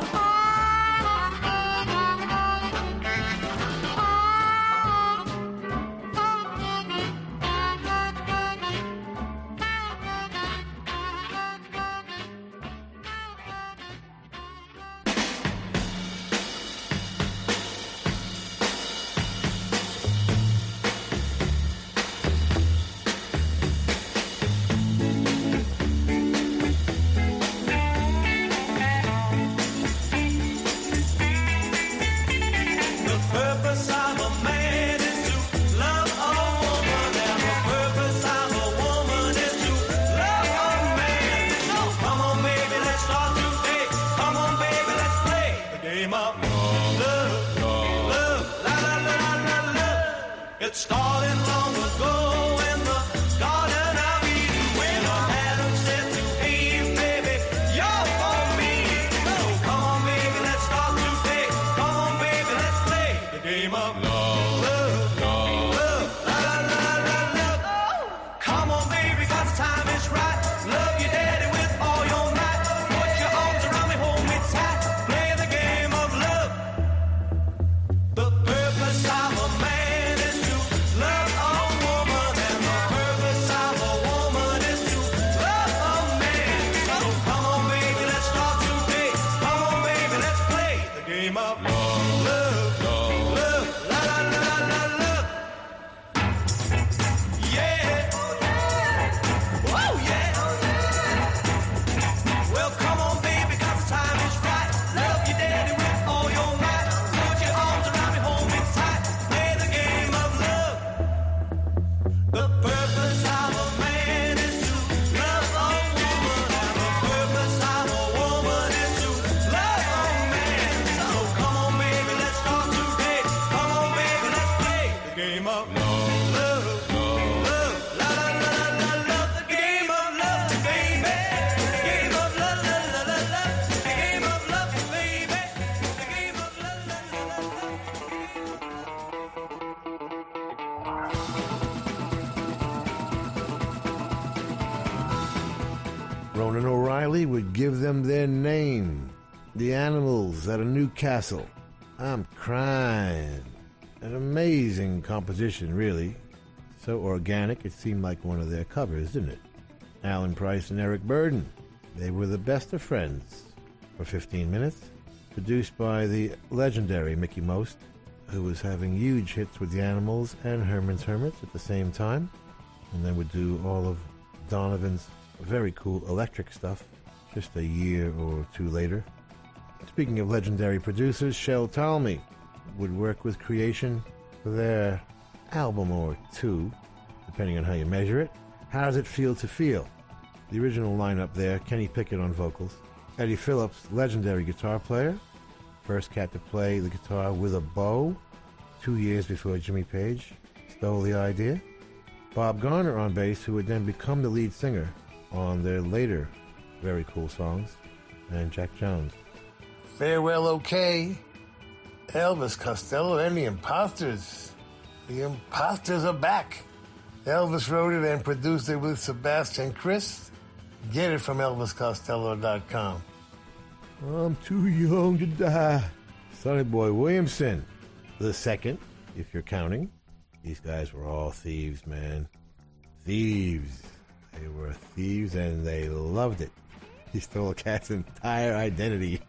Ronan O'Reilly would give them their name. The Animals at a New Castle. I'm crying. An amazing composition, really. So organic, it seemed like one of their covers, didn't it? Alan Price and Eric Burden. They were the best of friends for fifteen minutes. Produced by the legendary Mickey Most, who was having huge hits with the Animals and Herman's Hermits at the same time, and then would do all of Donovan's very cool electric stuff just a year or two later. Speaking of legendary producers, Shel Talmy would work with Creation for their album or two, depending on how you measure it. How Does It Feel to Feel? The original lineup there, Kenny Pickett on vocals, Eddie Phillips, legendary guitar player, first cat to play the guitar with a bow, two years before Jimmy Page stole the idea. Bob Garner on bass, who would then become the lead singer on their later very cool songs, and Jack Jones. Farewell, OK. Elvis Costello and the Imposters. The Imposters are back. Elvis wrote it and produced it with Sebastian Chris. Get it from Elvis Costello dot com. I'm too young to die. Sonny Boy Williamson, the second, if you're counting. These guys were all thieves, man. Thieves. They were thieves and they loved it. He stole a cat's entire identity.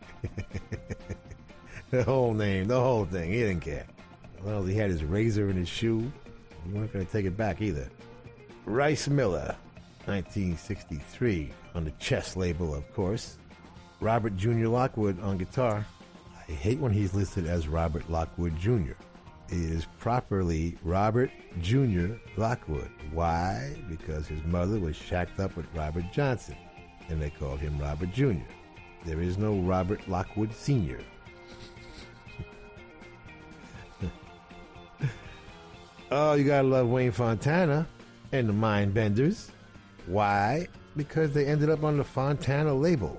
The whole name, the whole thing. He didn't care. Well, he had his razor in his shoe. You weren't going to take it back either. Rice Miller, nineteen sixty-three, on the Chess label, of course. Robert Junior Lockwood on guitar. I hate when he's listed as Robert Lockwood Junior It is properly Robert Junior Lockwood. Why? Because his mother was shacked up with Robert Johnson, and they called him Robert Junior There is no Robert Lockwood Senior Oh, you gotta love Wayne Fontana and the Mindbenders. Why? Because they ended up on the Fontana label.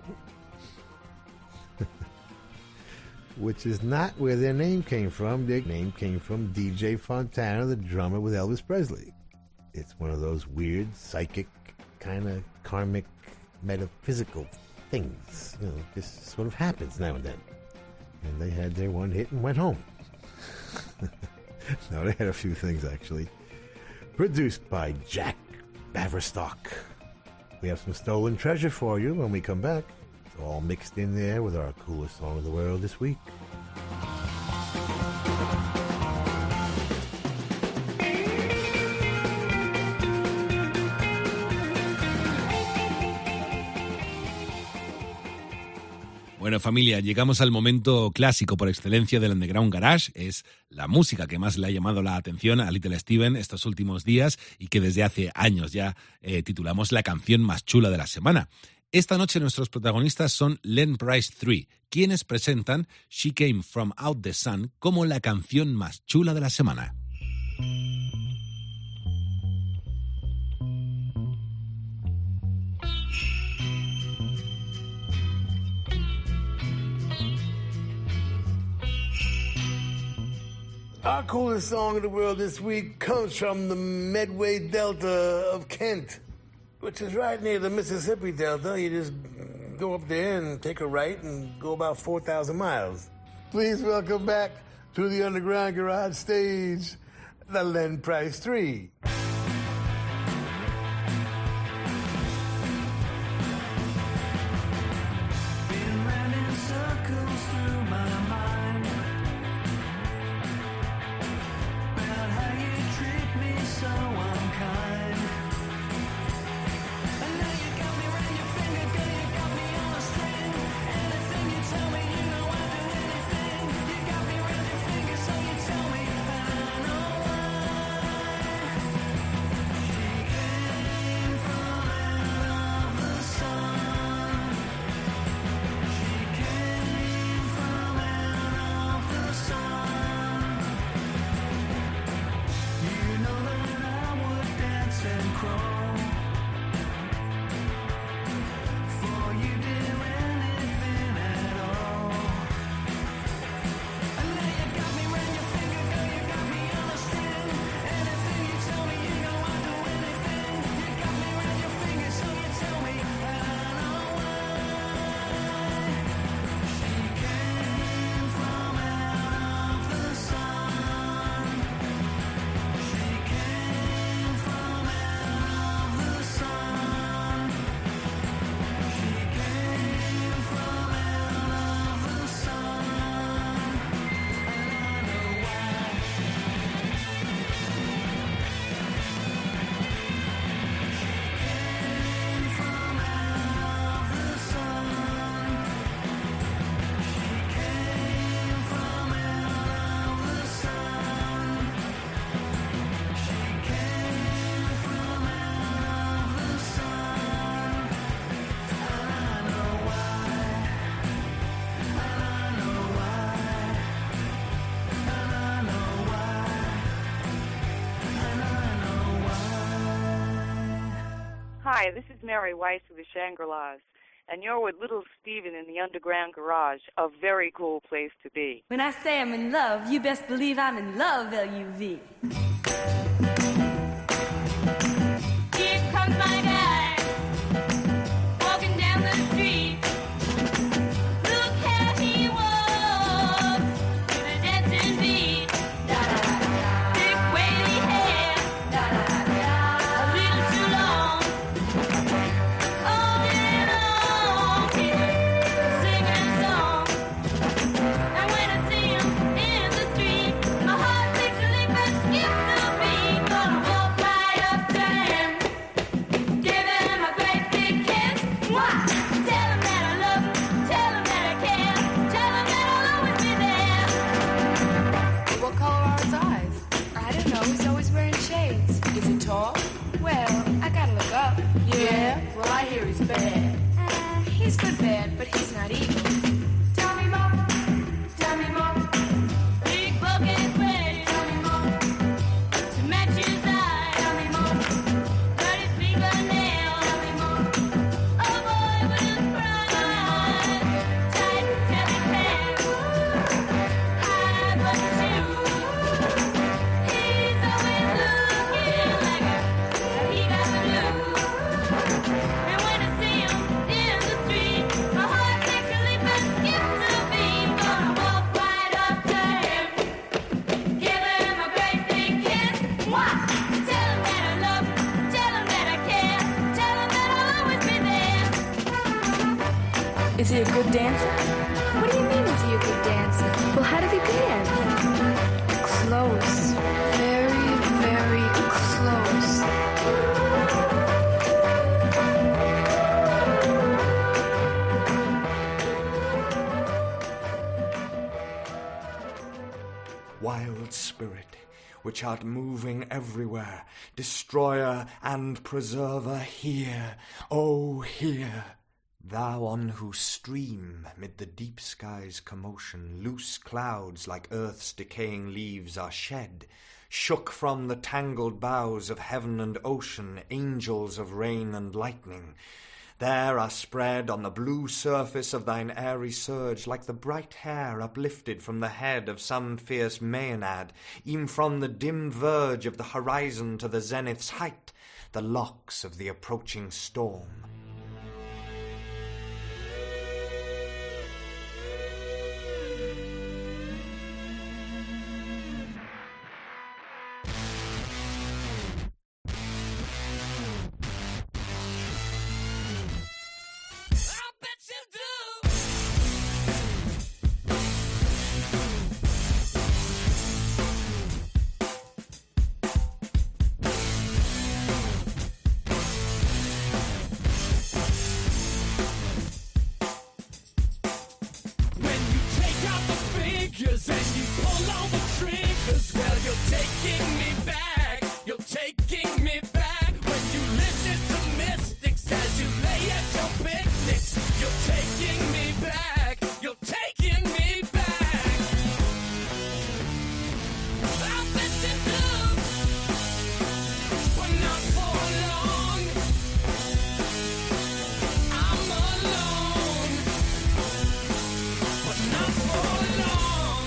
Which is not where their name came from. Their name came from D J Fontana, the drummer with Elvis Presley. It's one of those weird, psychic, kind of karmic, metaphysical things. You know, just sort of happens now and then. And they had their one hit and went home. No, they had a few things, actually. Produced by Jack Baverstock. We have some stolen treasure for you when we come back. It's all mixed in there with our coolest song of the world this week. Bueno, familia, llegamos al momento clásico por excelencia del Underground Garage. Es la música que más le ha llamado la atención a Little Steven estos últimos días y que desde hace años ya eh, titulamos la canción más chula de la semana. Esta noche nuestros protagonistas son Len Price tres, quienes presentan She Came From Out the Sun como la canción más chula de la semana. Our coolest song of the world this week comes from the Medway Delta of Kent, which is right near the Mississippi Delta. You just go up there and take a right and go about four thousand miles. Please welcome back to the Underground Garage stage, the Len Price three. Tell me, I know why. Hi, this is Mary Weiss of the Shangri-Las, and you're with Little Steven in the Underground Garage, a very cool place to be. When I say I'm in love, you best believe I'm in love, L U V. Here comes my guy, walking down the street. Look how he walks, with a dancing beat. Da-da-da-da. Thick wavy hair, da-da-da-da. A little too long. All day long, he's singing a song. And when I see him in the street, my heart takes a leap and skips a beat. Gonna walk right up to him, give him a great big kiss. Mwah! Tell him that I love him, tell him that I care, tell him that I'll always be there. What color are his eyes? I don't know. He's always wearing shades. Is he tall? Well, I gotta look up. Yeah? Well, I hear he's bad. Uh, he's good bad, but he's not evil. Tell me more. Tell me more. Big bucket sweater, Tell me more. to match his eyes. Tell me more. Dirty fingernails. Tell me more. A boy with his pride. Tight heavy pants. High button shoes. He's always looking like a, he got the blues. And when I see him in the street, my heart takes a leap and skips a beat. Gonna walk right up to him, give him a great big kiss. Mwah! Tell him that I love him, tell him that I care, tell him that I'll always be there. Is he a good dancer? What do you mean, is he a good dancer? Well, how does he dance? Close. Very, very close. Wild spirit, which art moving everywhere, destroyer and preserver, hear, oh, hear. Thou on whose stream, mid the deep sky's commotion, loose clouds like earth's decaying leaves are shed, shook from the tangled boughs of heaven and ocean, angels of rain and lightning. There are spread on the blue surface of thine airy surge, like the bright hair uplifted from the head of some fierce Maenad, e'en from the dim verge of the horizon to the zenith's height, the locks of the approaching storm. When you take out the figures and you pull all the triggers, well, you're taking me back, you're taking me back. When you listen to mystics as you lay at your picnics, you're taking me back, you're taking me back. I bet you do, but not for long. I'm alone, but not for long.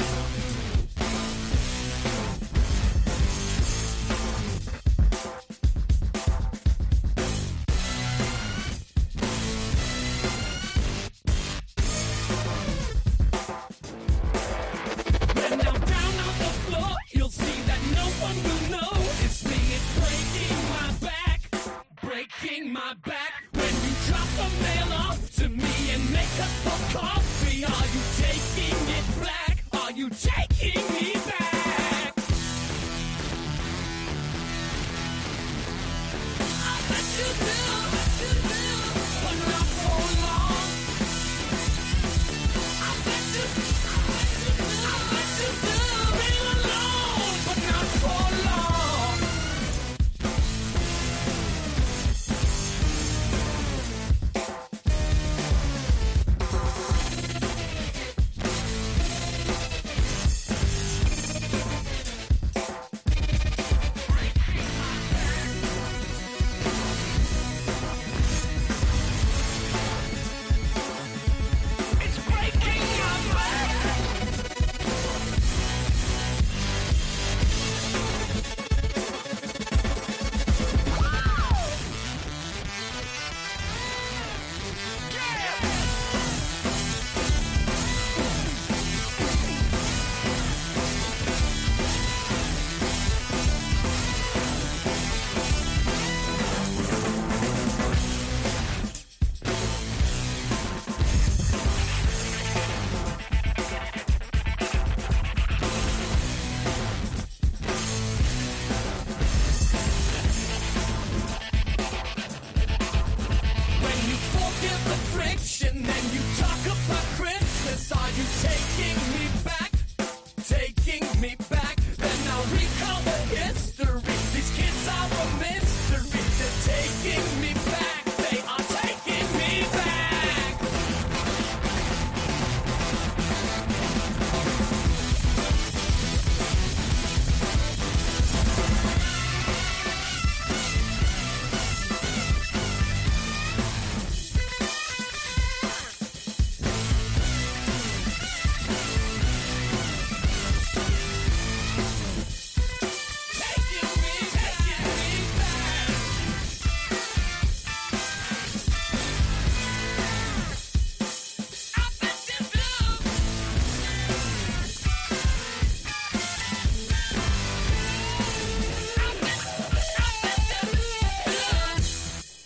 When I'm down on the floor, you'll see that no one will know it's me. It's breaking my back, breaking my back. When you drop the mail off to me and make us for coffee, are you taking it back? Are you taking me back? I bet you do, but not for long. I bet you, I bet you do, real alone, but not for long.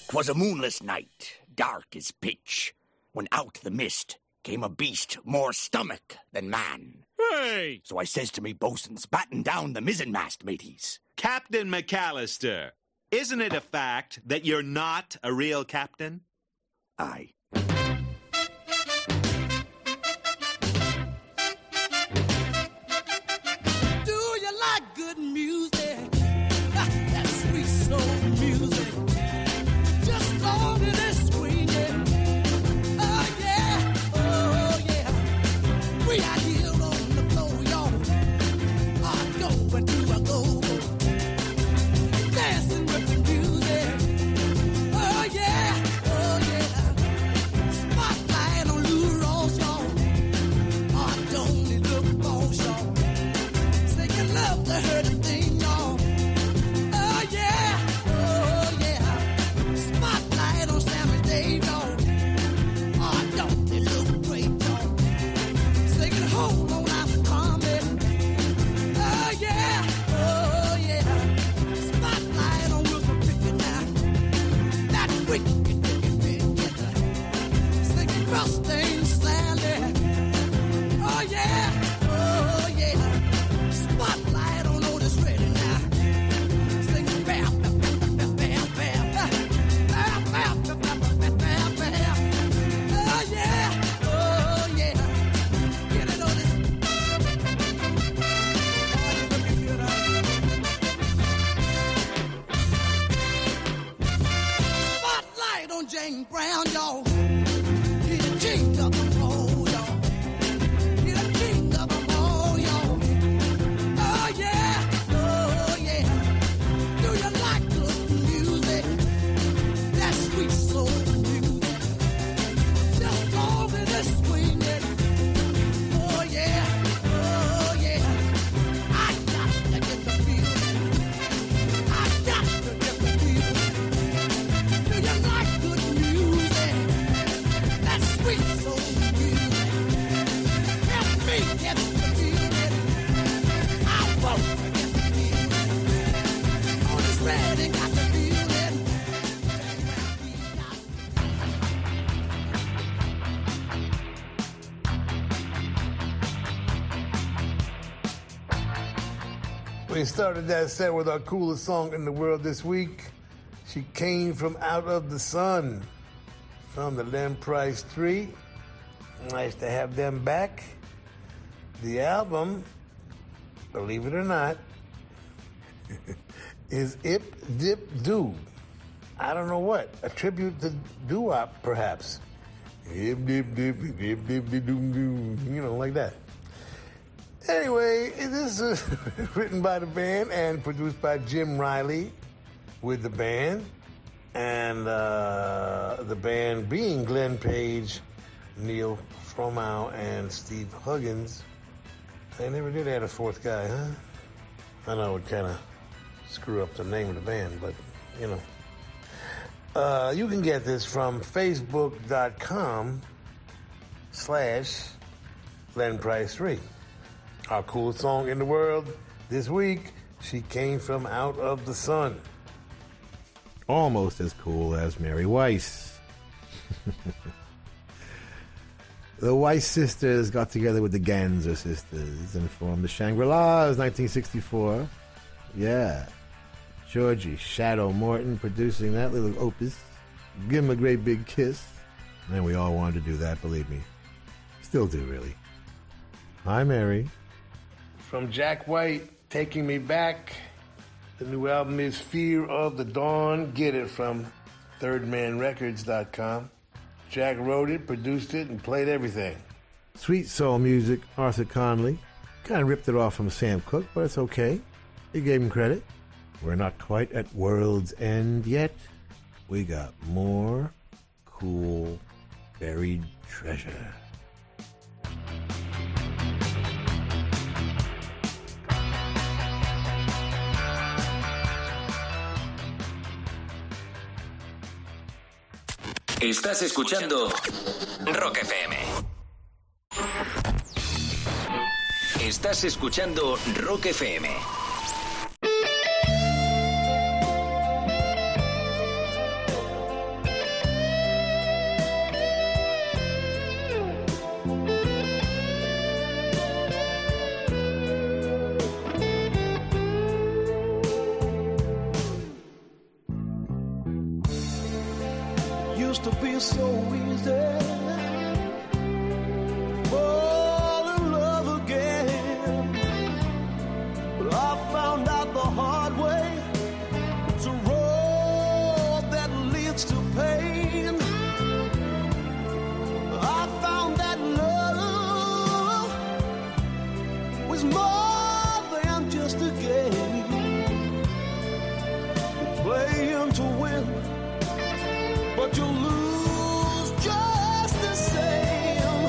'Twas a moonless night, dark as pitch, when out the mist came a beast more stomach than man. Hey! So I says to me bosuns, batten down the mizzenmast, mateys. Captain McAllister, isn't it a fact that you're not a real captain? Aye. Do you like good music? That sweet soul music. Just long as it's swinging. Oh yeah, oh yeah. We out here on the floor, y'all. Are going to a go-go. Dancing with the music. Oh yeah, oh yeah. Spotlight on Lou Ross, y'all. Oh, don't it look boss, y'all. Say you love to hear the thing, y'all. Oh yeah, oh yeah. Spotlight on Sammy Dave, y'all. Oh, don't it look great, y'all. Singing hold on, I'm coming. Oh yeah, oh yeah. Spotlight on Wilson Pickett now. That wicked, wicked, wicked. Singing Rustin Sally. Oh yeah, oh yeah. Spotlight on Otis Ready now. Singing bam, bam, bam, bam, bam, bam. Bam, bam, bam, bam, bam, bam, bam. Oh yeah, oh yeah. Get it, Otis. Spotlight on Jane Brown, y'all. He's the king of them all, y'all. He's the king of them all, y'all. Oh yeah, oh yeah. Do you like good music? That sweet soul music. Just long as it's swinging. Oh yeah, oh yeah. I got to get the feeling. I got to get the feeling. Do you like good music? That sweet soul music. Help me get the feeling. I won't forget the feeling. On this ready, got the feeling. We started that set with our coolest song in the world this week. She Came From Out of the Sun from the Len Price Three. Nice to have them back. The album, believe it or not, is Ip Dip Doo. I don't know what. A tribute to doo-wop, perhaps. Ip Dip Dip, Dip Dip Dip Doo Doo. You know, like that. Anyway, this is written by the band and produced by Jim Riley with the band. And uh, the band being Glenn Page, Neil Fromow, and Steve Huggins. They never did add a fourth guy, huh? I know it would kind of screw up the name of the band, but, you know. Uh, you can get this from facebook.com slash Len Price three. Our coolest song in the world this week, She Came From Out of the Sun. Almost as cool as Mary Weiss. The Weiss sisters got together with the Ganser sisters and formed the Shangri-Las nineteen sixty-four. Yeah. Georgie Shadow Morton producing that little opus. Give him a great big kiss. And we all wanted to do that, believe me. Still do, really. Hi, Mary. From Jack White, Taking Me Back. The new album is Fear of the Dawn. Get it from third man records dot com. Jack wrote it, produced it, and played everything. Sweet soul music, Arthur Conley. Kind of ripped it off from Sam Cooke, but it's okay. He gave him credit. We're not quite at World's End yet. We got more cool buried treasure. Estás escuchando Rock F M. Estás escuchando Rock F M. used to be so easy. Fall in love again. But I found out the hard way. It's a road that leads to pain. I found that love was more than just a game. You're playing to win, but you lose just the same.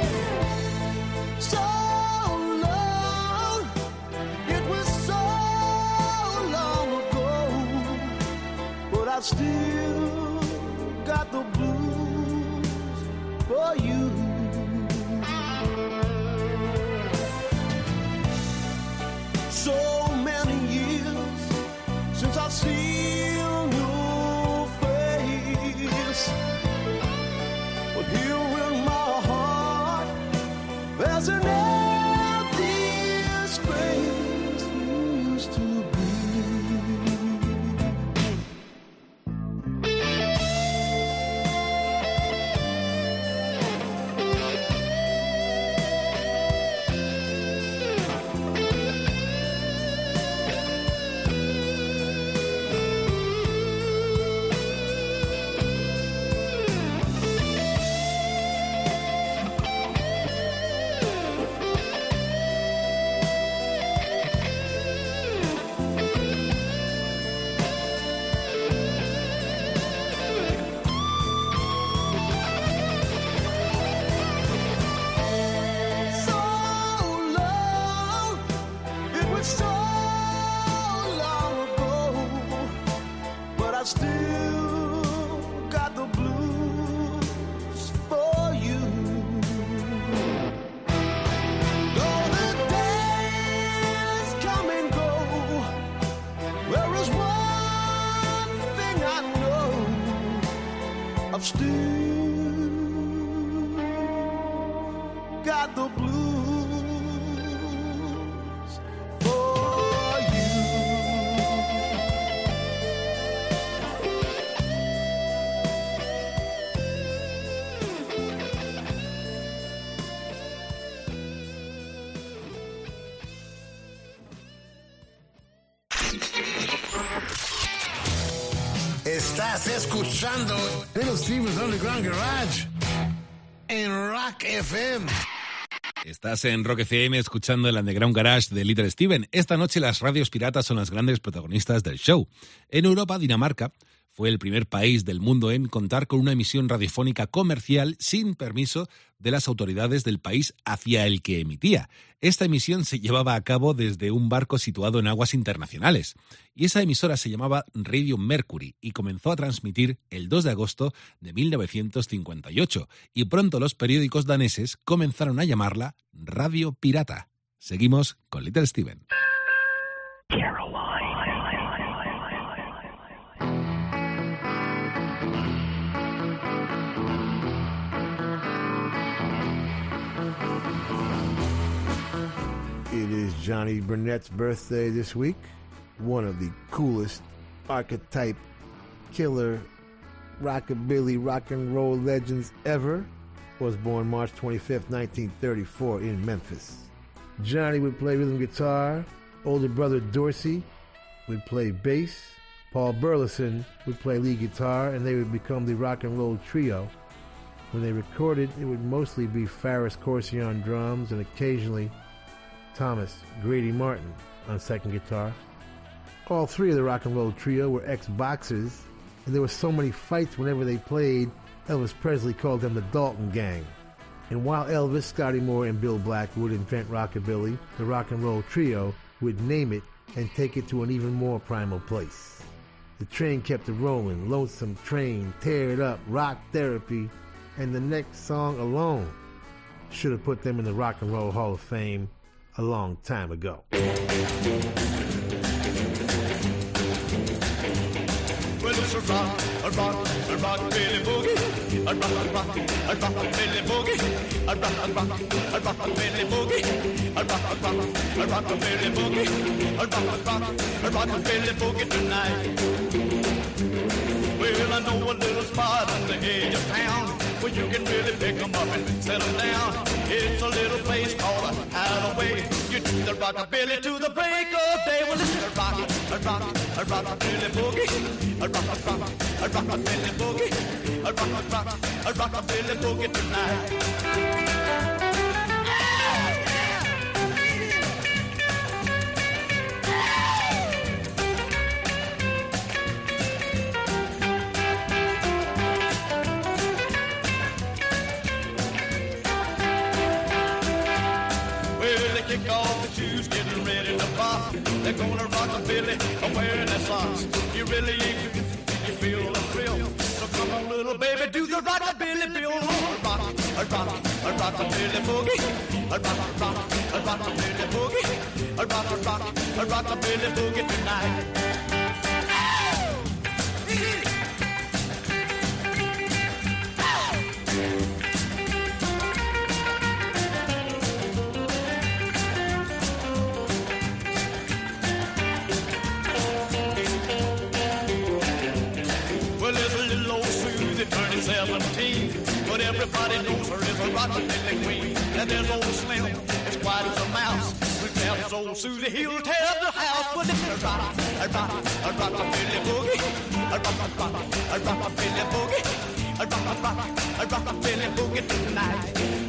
So long, it was so long ago, but I still got the blues for you. So many years since I've seen your face, but here in my heart there's an empty space used to be. So long, it was so long ago, but I still got the blues for you. Though the days come and go, there is one thing I know: I've still got the blues for you. Estás escuchando Little Steven's Underground Garage en Rock F M. Estás en Rock F M escuchando el Underground Garage de Little Steven. Esta noche las radios piratas son las grandes protagonistas del show. En Europa, Dinamarca fue el primer país del mundo en contar con una emisión radiofónica comercial sin permiso de las autoridades del país hacia el que emitía. Esta emisión se llevaba a cabo desde un barco situado en aguas internacionales. Y esa emisora se llamaba Radio Mercury y comenzó a transmitir el dos de agosto de mil novecientos cincuenta y ocho. Y pronto los periódicos daneses comenzaron a llamarla Radio Pirata. Seguimos con Little Steven. It is Johnny Burnett's birthday this week. One of the coolest archetype killer rockabilly rock and roll legends ever was born March twenty-fifth, nineteen thirty-four in Memphis. Johnny would play rhythm guitar. Older brother Dorsey would play bass. Paul Burleson would play lead guitar, and they would become the rock and roll trio. When they recorded, it would mostly be Faris Corsi on drums and occasionally Thomas Grady Martin on second guitar. All three of the rock and roll trio were ex-boxers, and there were so many fights whenever they played, Elvis Presley called them the Dalton Gang. And while Elvis, Scotty Moore, and Bill Black would invent rockabilly, the rock and roll trio would name it and take it to an even more primal place. The train kept it rolling, Lonesome Train, Tear It Up, Rock Therapy, and the next song alone should have put them in the Rock and Roll Hall of Fame a long time ago. Well, it's a rock, a rock, a rock, Billy Boogie. A rock, a rock, a rock, Billy Boogie. A rock, a rock, a rock, Billy Boogie. A rock, a rock, a rock, Billy Boogie. A rock, a rock, a rock, Billy Boogie tonight. Well, I know a little spot on the edge of town where you can really pick 'em up and settle down. It's a little place called a Hideaway. You do the rockabilly to the break of day. Well, it's a rock, a rock, a rockabilly boogie, a rock, a rock, a rockabilly boogie, a rock, a rock, a rockabilly boogie tonight. Kick off the shoes, getting ready to pop. They're gonna rock a billy, wearing their socks. You really ain't, you feel the thrill. So come on, little baby, do the rockabilly, Bill. A rock, a rock, a rockabilly boogie. A rock, a rock, a rockabilly boogie. A rock, a rock, a rockabilly boogie tonight. Turning seventeen, but everybody knows her as a rockabilly queen. And there's old Slim, as quiet as a mouse. We tell his old Susie, he'll tear the house. But it's a rock, a rock, a rockabilly boogie, a rock, a rock, a rockabilly boogie, a rock, a rock, a rockabilly boogie tonight.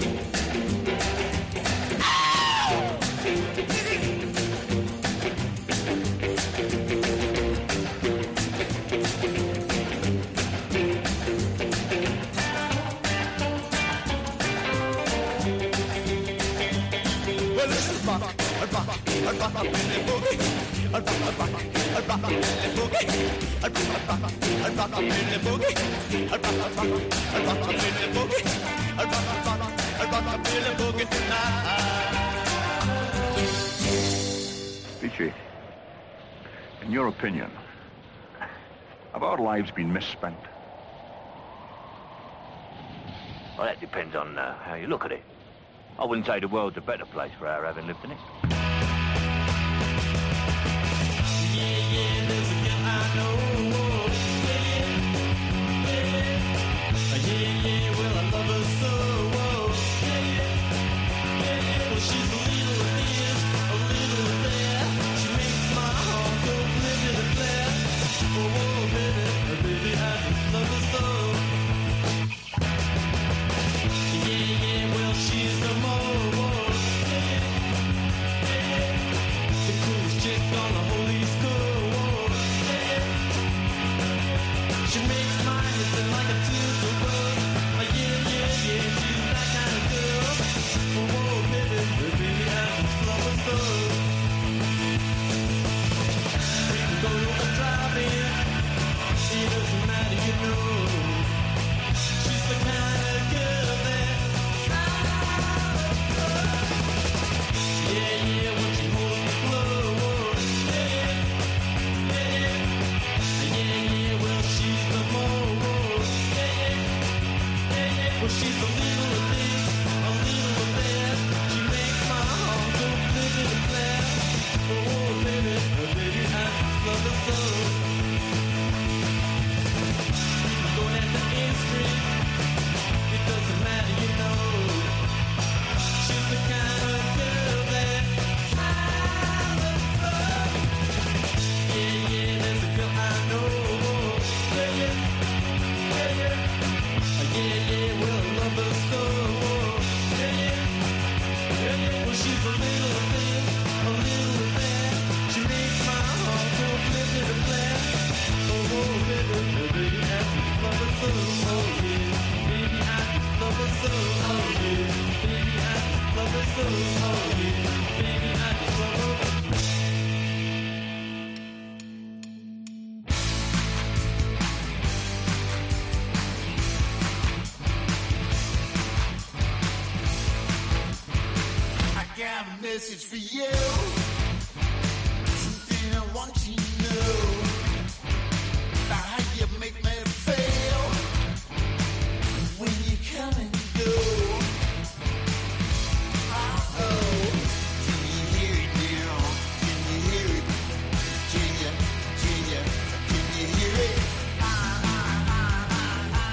Rock, a rock, a rockabilly boogie, a rock, a rock, a rockabilly boogie, a rock, a rock, a rockabilly boogie, a rock, a rock, a rockabilly boogie, a rock, a rock, a rockabilly boogie tonight. Peachy, in your opinion, have our lives been misspent? Well, that depends on uh, how you look at it. I wouldn't say the world's a better place for our having lived in it. Yeah, yeah, there's a girl I know. Yeah, yeah, yeah, yeah, well, I love her so. Yeah, yeah, yeah, well, she's a little this, a little that. She makes my heart go flippin' and flat. Oh, oh, baby, baby, I just love her so. Yeah, yeah, well, she's the most, yeah, yeah, the coolest chick on the whole East Coast, yeah, she makes my head feel like a tilt bug. Oh, yeah, yeah, yeah, she's that kind of girl. Oh, whoa, baby, baby, I just love her so. We can go to a drive-in, it doesn't matter, you know. She's the kind of girl that yeah, yeah, when she holds the floor, yeah, yeah, yeah, yeah, well, she's the most, yeah, yeah, well, she's a little of this, a little of that, she makes my heart go flippin' and flat, oh, baby, oh, baby, I just love her so, I'm going at the end street, it doesn't matter, you know, she's the kind of girl that I love her. Yeah, yeah, there's a girl I know. Yeah, yeah, yeah, yeah. Yeah, yeah, well, I love her so. Yeah, yeah, yeah, yeah. Well, she's a little of this, a little of that. She makes my heart go flippin' and flat. Oh, oh, baby, baby, I just love her so. Oh, yeah, baby, I just love her so. Oh, yeah, baby, I just love her so. Oh, yeah, baby, I just love her. I got a message for you. Something I want you to know about how you make me feel when you come and go. Oh, can you hear it now? Can you hear it? Can you, can you, can you hear it? Ah, ah, ah, ah,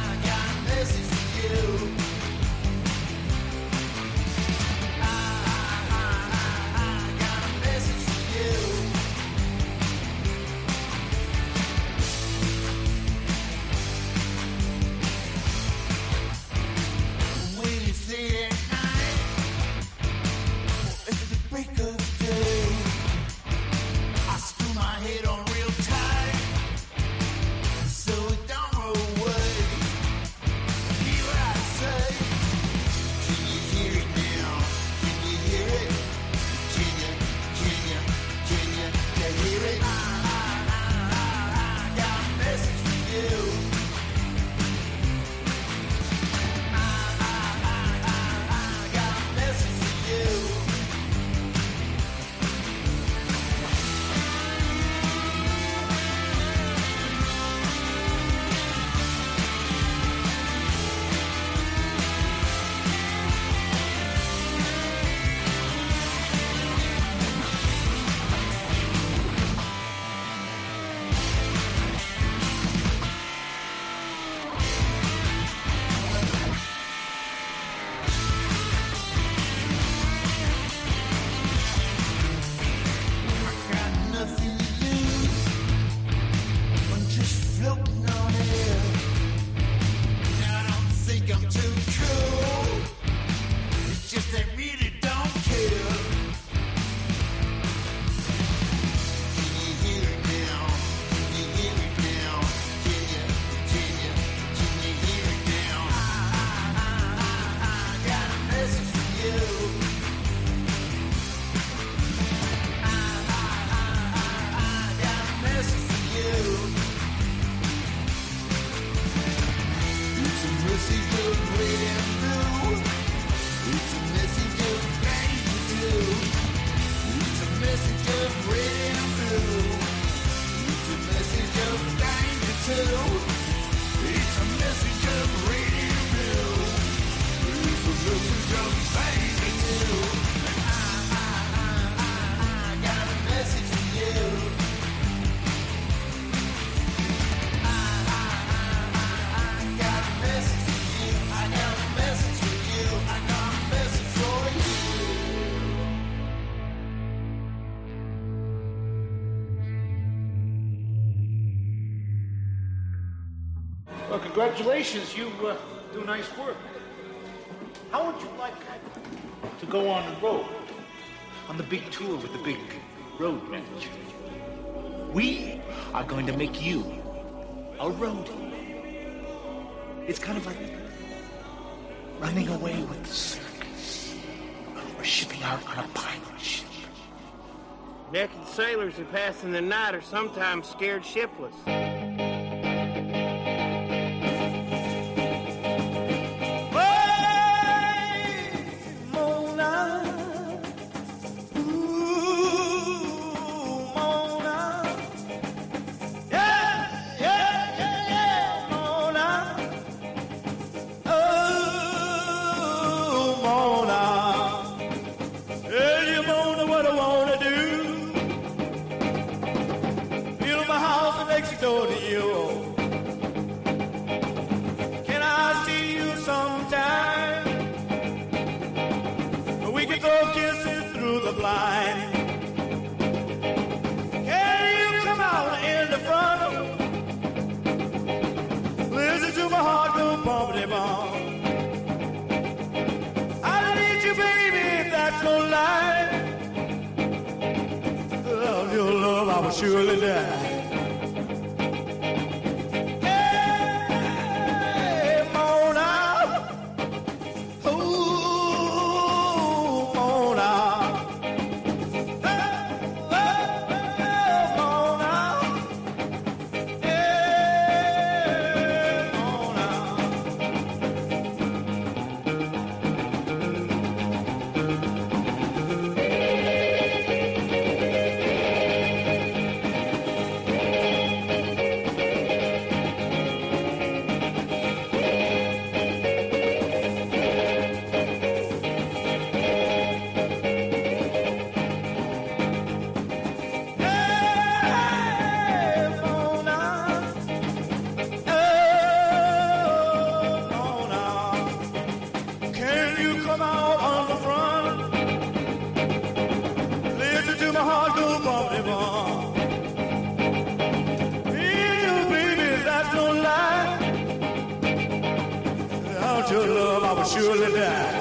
message of red and blue. It's a message of danger too. It's a message of red and blue. It's a message of danger too. It's a message of red and blue. It's a message of danger too. I, I, I, I, I got a message for you. I, I, I, I, I got a message for you. I got a message for you. I got a message for you. Well, congratulations. You uh, do nice work. How would you like to go on the road? On the big tour with the big road manager? We are going to make you a roadie. It's kind of like running away with the circus. Or shipping out on a pirate ship. Naked sailors who pass in the night are sometimes scared shipless. Door to you. Can I see you sometime? We can throw kisses through the blind. Can you come out in the front? Listen to my heart go bumpity bump. I need you, baby, that's no lie. Without your love, I will surely die. Your love, I will surely die.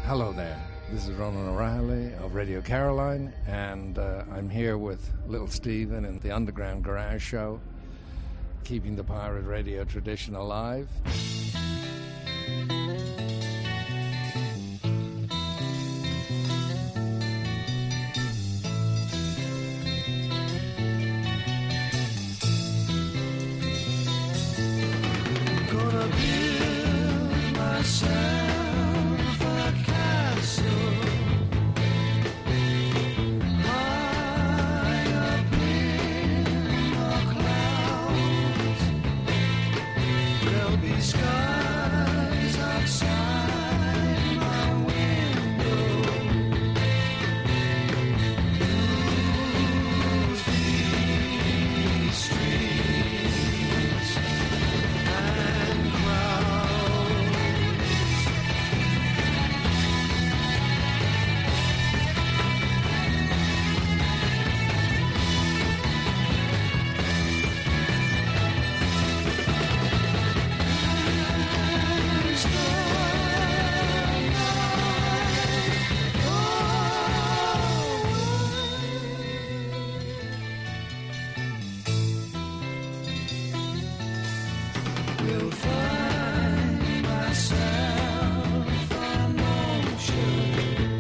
Hello there. This is Ronan O'Reilly of Radio Caroline, and uh, I'm here with Little Steven in the Underground Garage Show, keeping the pirate radio tradition alive. Gonna build myself a castle high up in the clouds. There'll be skies outside my window. Blues beat streets and crowds. As the will find myself on ocean,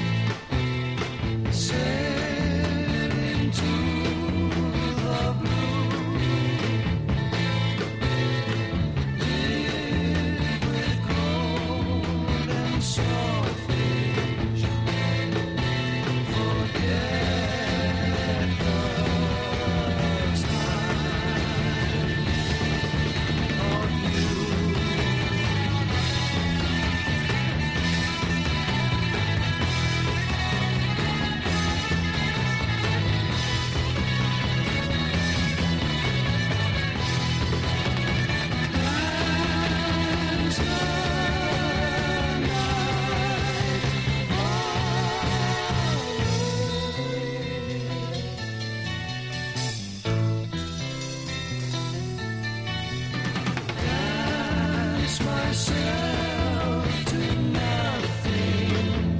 sailing to the blue, live with gold and saltfish, forget the time of you. As the dance myself to nothing,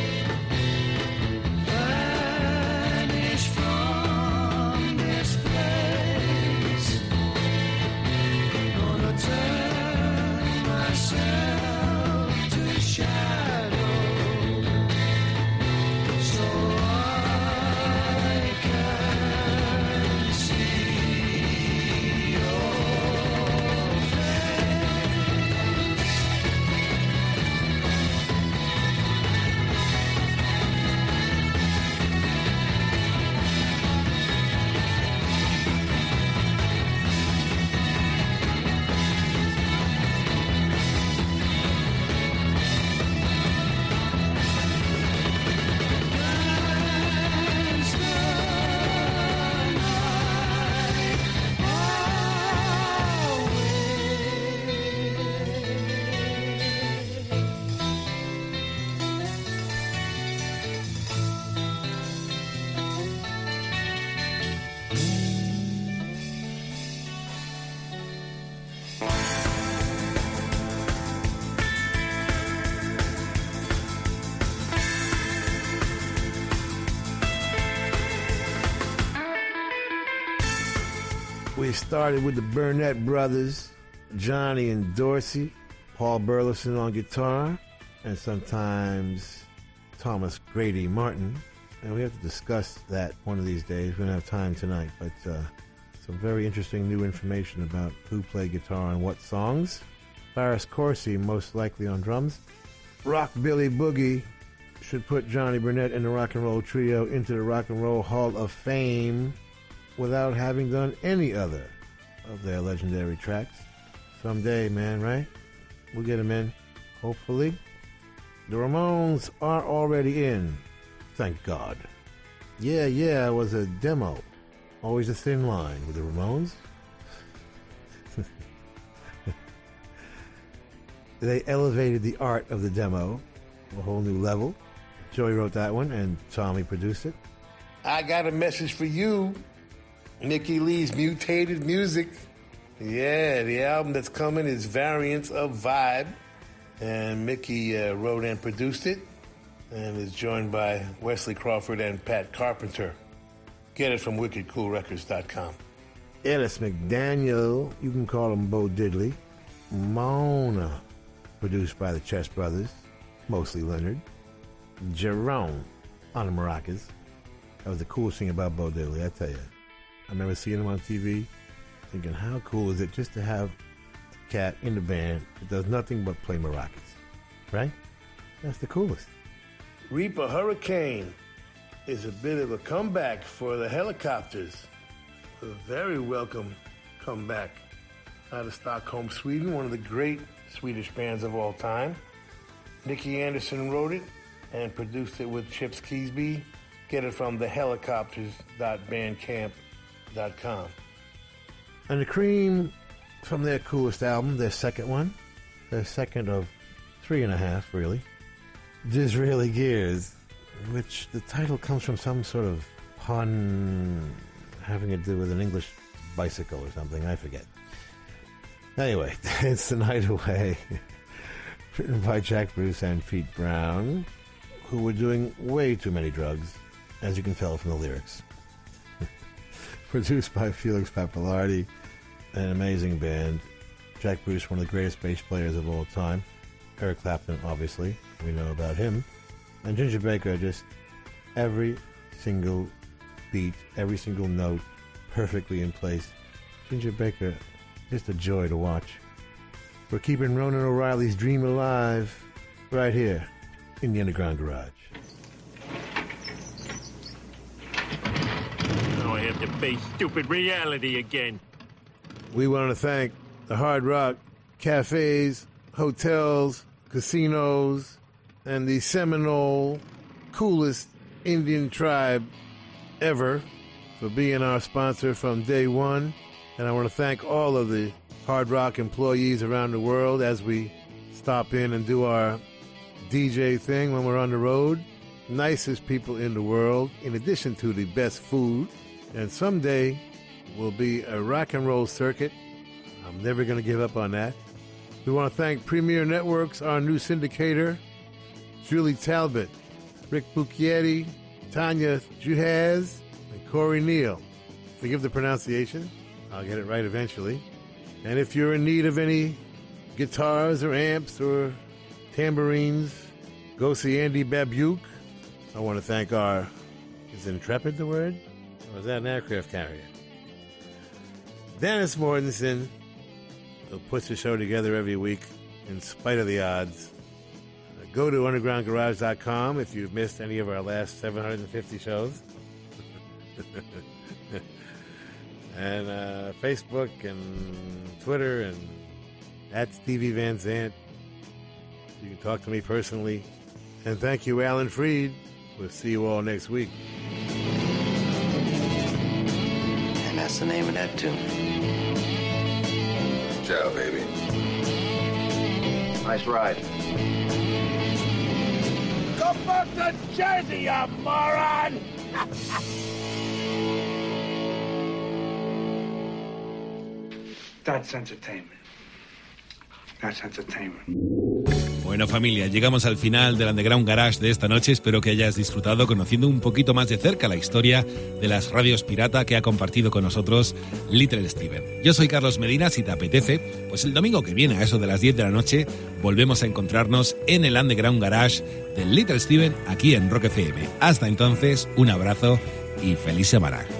vanish from this place. Gonna turn myself to shadow, so I can see your face. Dance the We started with the Burnett brothers, Johnny and Dorsey, Paul Burleson on guitar, and sometimes Thomas Grady Martin. And we have to discuss that one of these days. We don't have time tonight, but uh, some very interesting new information about who played guitar on what songs. Farris Corsi, most likely on drums. Rockabilly Boogie should put Johnny Burnett and the Rock and Roll Trio into the Rock and Roll Hall of Fame without having done any other of their legendary tracks. Someday, man, right? We'll get them in, hopefully. The Ramones are already in, thank God. Yeah, yeah, it was a demo. Always a thin line with the Ramones. They elevated the art of the demo to a whole new level. Joey wrote that one, and Tommy produced it. I got a message for you. Nikki Lee's Mutated Music. Yeah, the album that's coming is Variants of Vibe. And Mickey uh, wrote and produced it, and is joined by Wesley Crawford and Pat Carpenter. Get it from wicked cool records dot com. Ellis McDaniel, you can call him Bo Diddley. Mona, produced by the Chess Brothers, mostly Leonard. Jerome on the maracas. That was the coolest thing about Bo Diddley, I tell you. I remember seeing him on T V, thinking, how cool is it just to have a cat in the band that does nothing but play maracas, right? That's the coolest. Reaper Hurricane is a bit of a comeback for the Helicopters. A very welcome comeback out of Stockholm, Sweden, one of the great Swedish bands of all time. Nicky Anderson wrote it and produced it with Chips Keesby. Get it from the helicopters dot bandcamp dot com. And the Cream from their coolest album, their second one, their second of three and a half, really, Disraeli Gears, which the title comes from some sort of pun having to do with an English bicycle or something, I forget. Anyway, It's the Night Away, written by Jack Bruce and Pete Brown, who were doing way too many drugs, as you can tell from the lyrics. Produced by Felix Pappalardi, an amazing band. Jack Bruce, one of the greatest bass players of all time. Eric Clapton, obviously, we know about him. And Ginger Baker, just every single beat, every single note, perfectly in place. Ginger Baker, just a joy to watch. We're keeping Ronan O'Reilly's dream alive right here in the Underground Garage. Now I have to face stupid reality again. We want to thank the Hard Rock cafes, hotels, casinos, and the Seminole, coolest Indian tribe ever for being our sponsor from day one. And I want to thank all of the Hard Rock employees around the world as we stop in and do our D J thing when we're on the road. Nicest people in the world, in addition to the best food. And someday will be a rock and roll circuit. I'm never going to give up on that. We want to thank Premier Networks, our new syndicator, Julie Talbot, Rick Bucchietti, Tanya Juhaz, and Corey Neal. Forgive the pronunciation. I'll get it right eventually. And if you're in need of any guitars or amps or tambourines, go see Andy Babuke. I want to thank our, is Intrepid the word? Or is that an aircraft carrier? Dennis Mortensen, who puts the show together every week in spite of the odds. Go to underground garage dot com if you've missed any of our last seven hundred fifty shows. And uh, Facebook and Twitter and at Stevie Van Zandt. You can talk to me personally. And thank you, Alan Freed. We'll see you all next week. And that's the name of that tune. Ciao, baby. Nice ride. Go back to Jersey, you moron! That's entertainment. That's entertainment. Bueno, familia, llegamos al final del Underground Garage de esta noche. Espero que hayas disfrutado conociendo un poquito más de cerca la historia de las radios pirata que ha compartido con nosotros Little Steven. Yo soy Carlos Medina. Si te apetece, pues el domingo que viene a eso de las diez de la noche volvemos a encontrarnos en el Underground Garage de Little Steven aquí en Rock F M. Hasta entonces, un abrazo y feliz semana.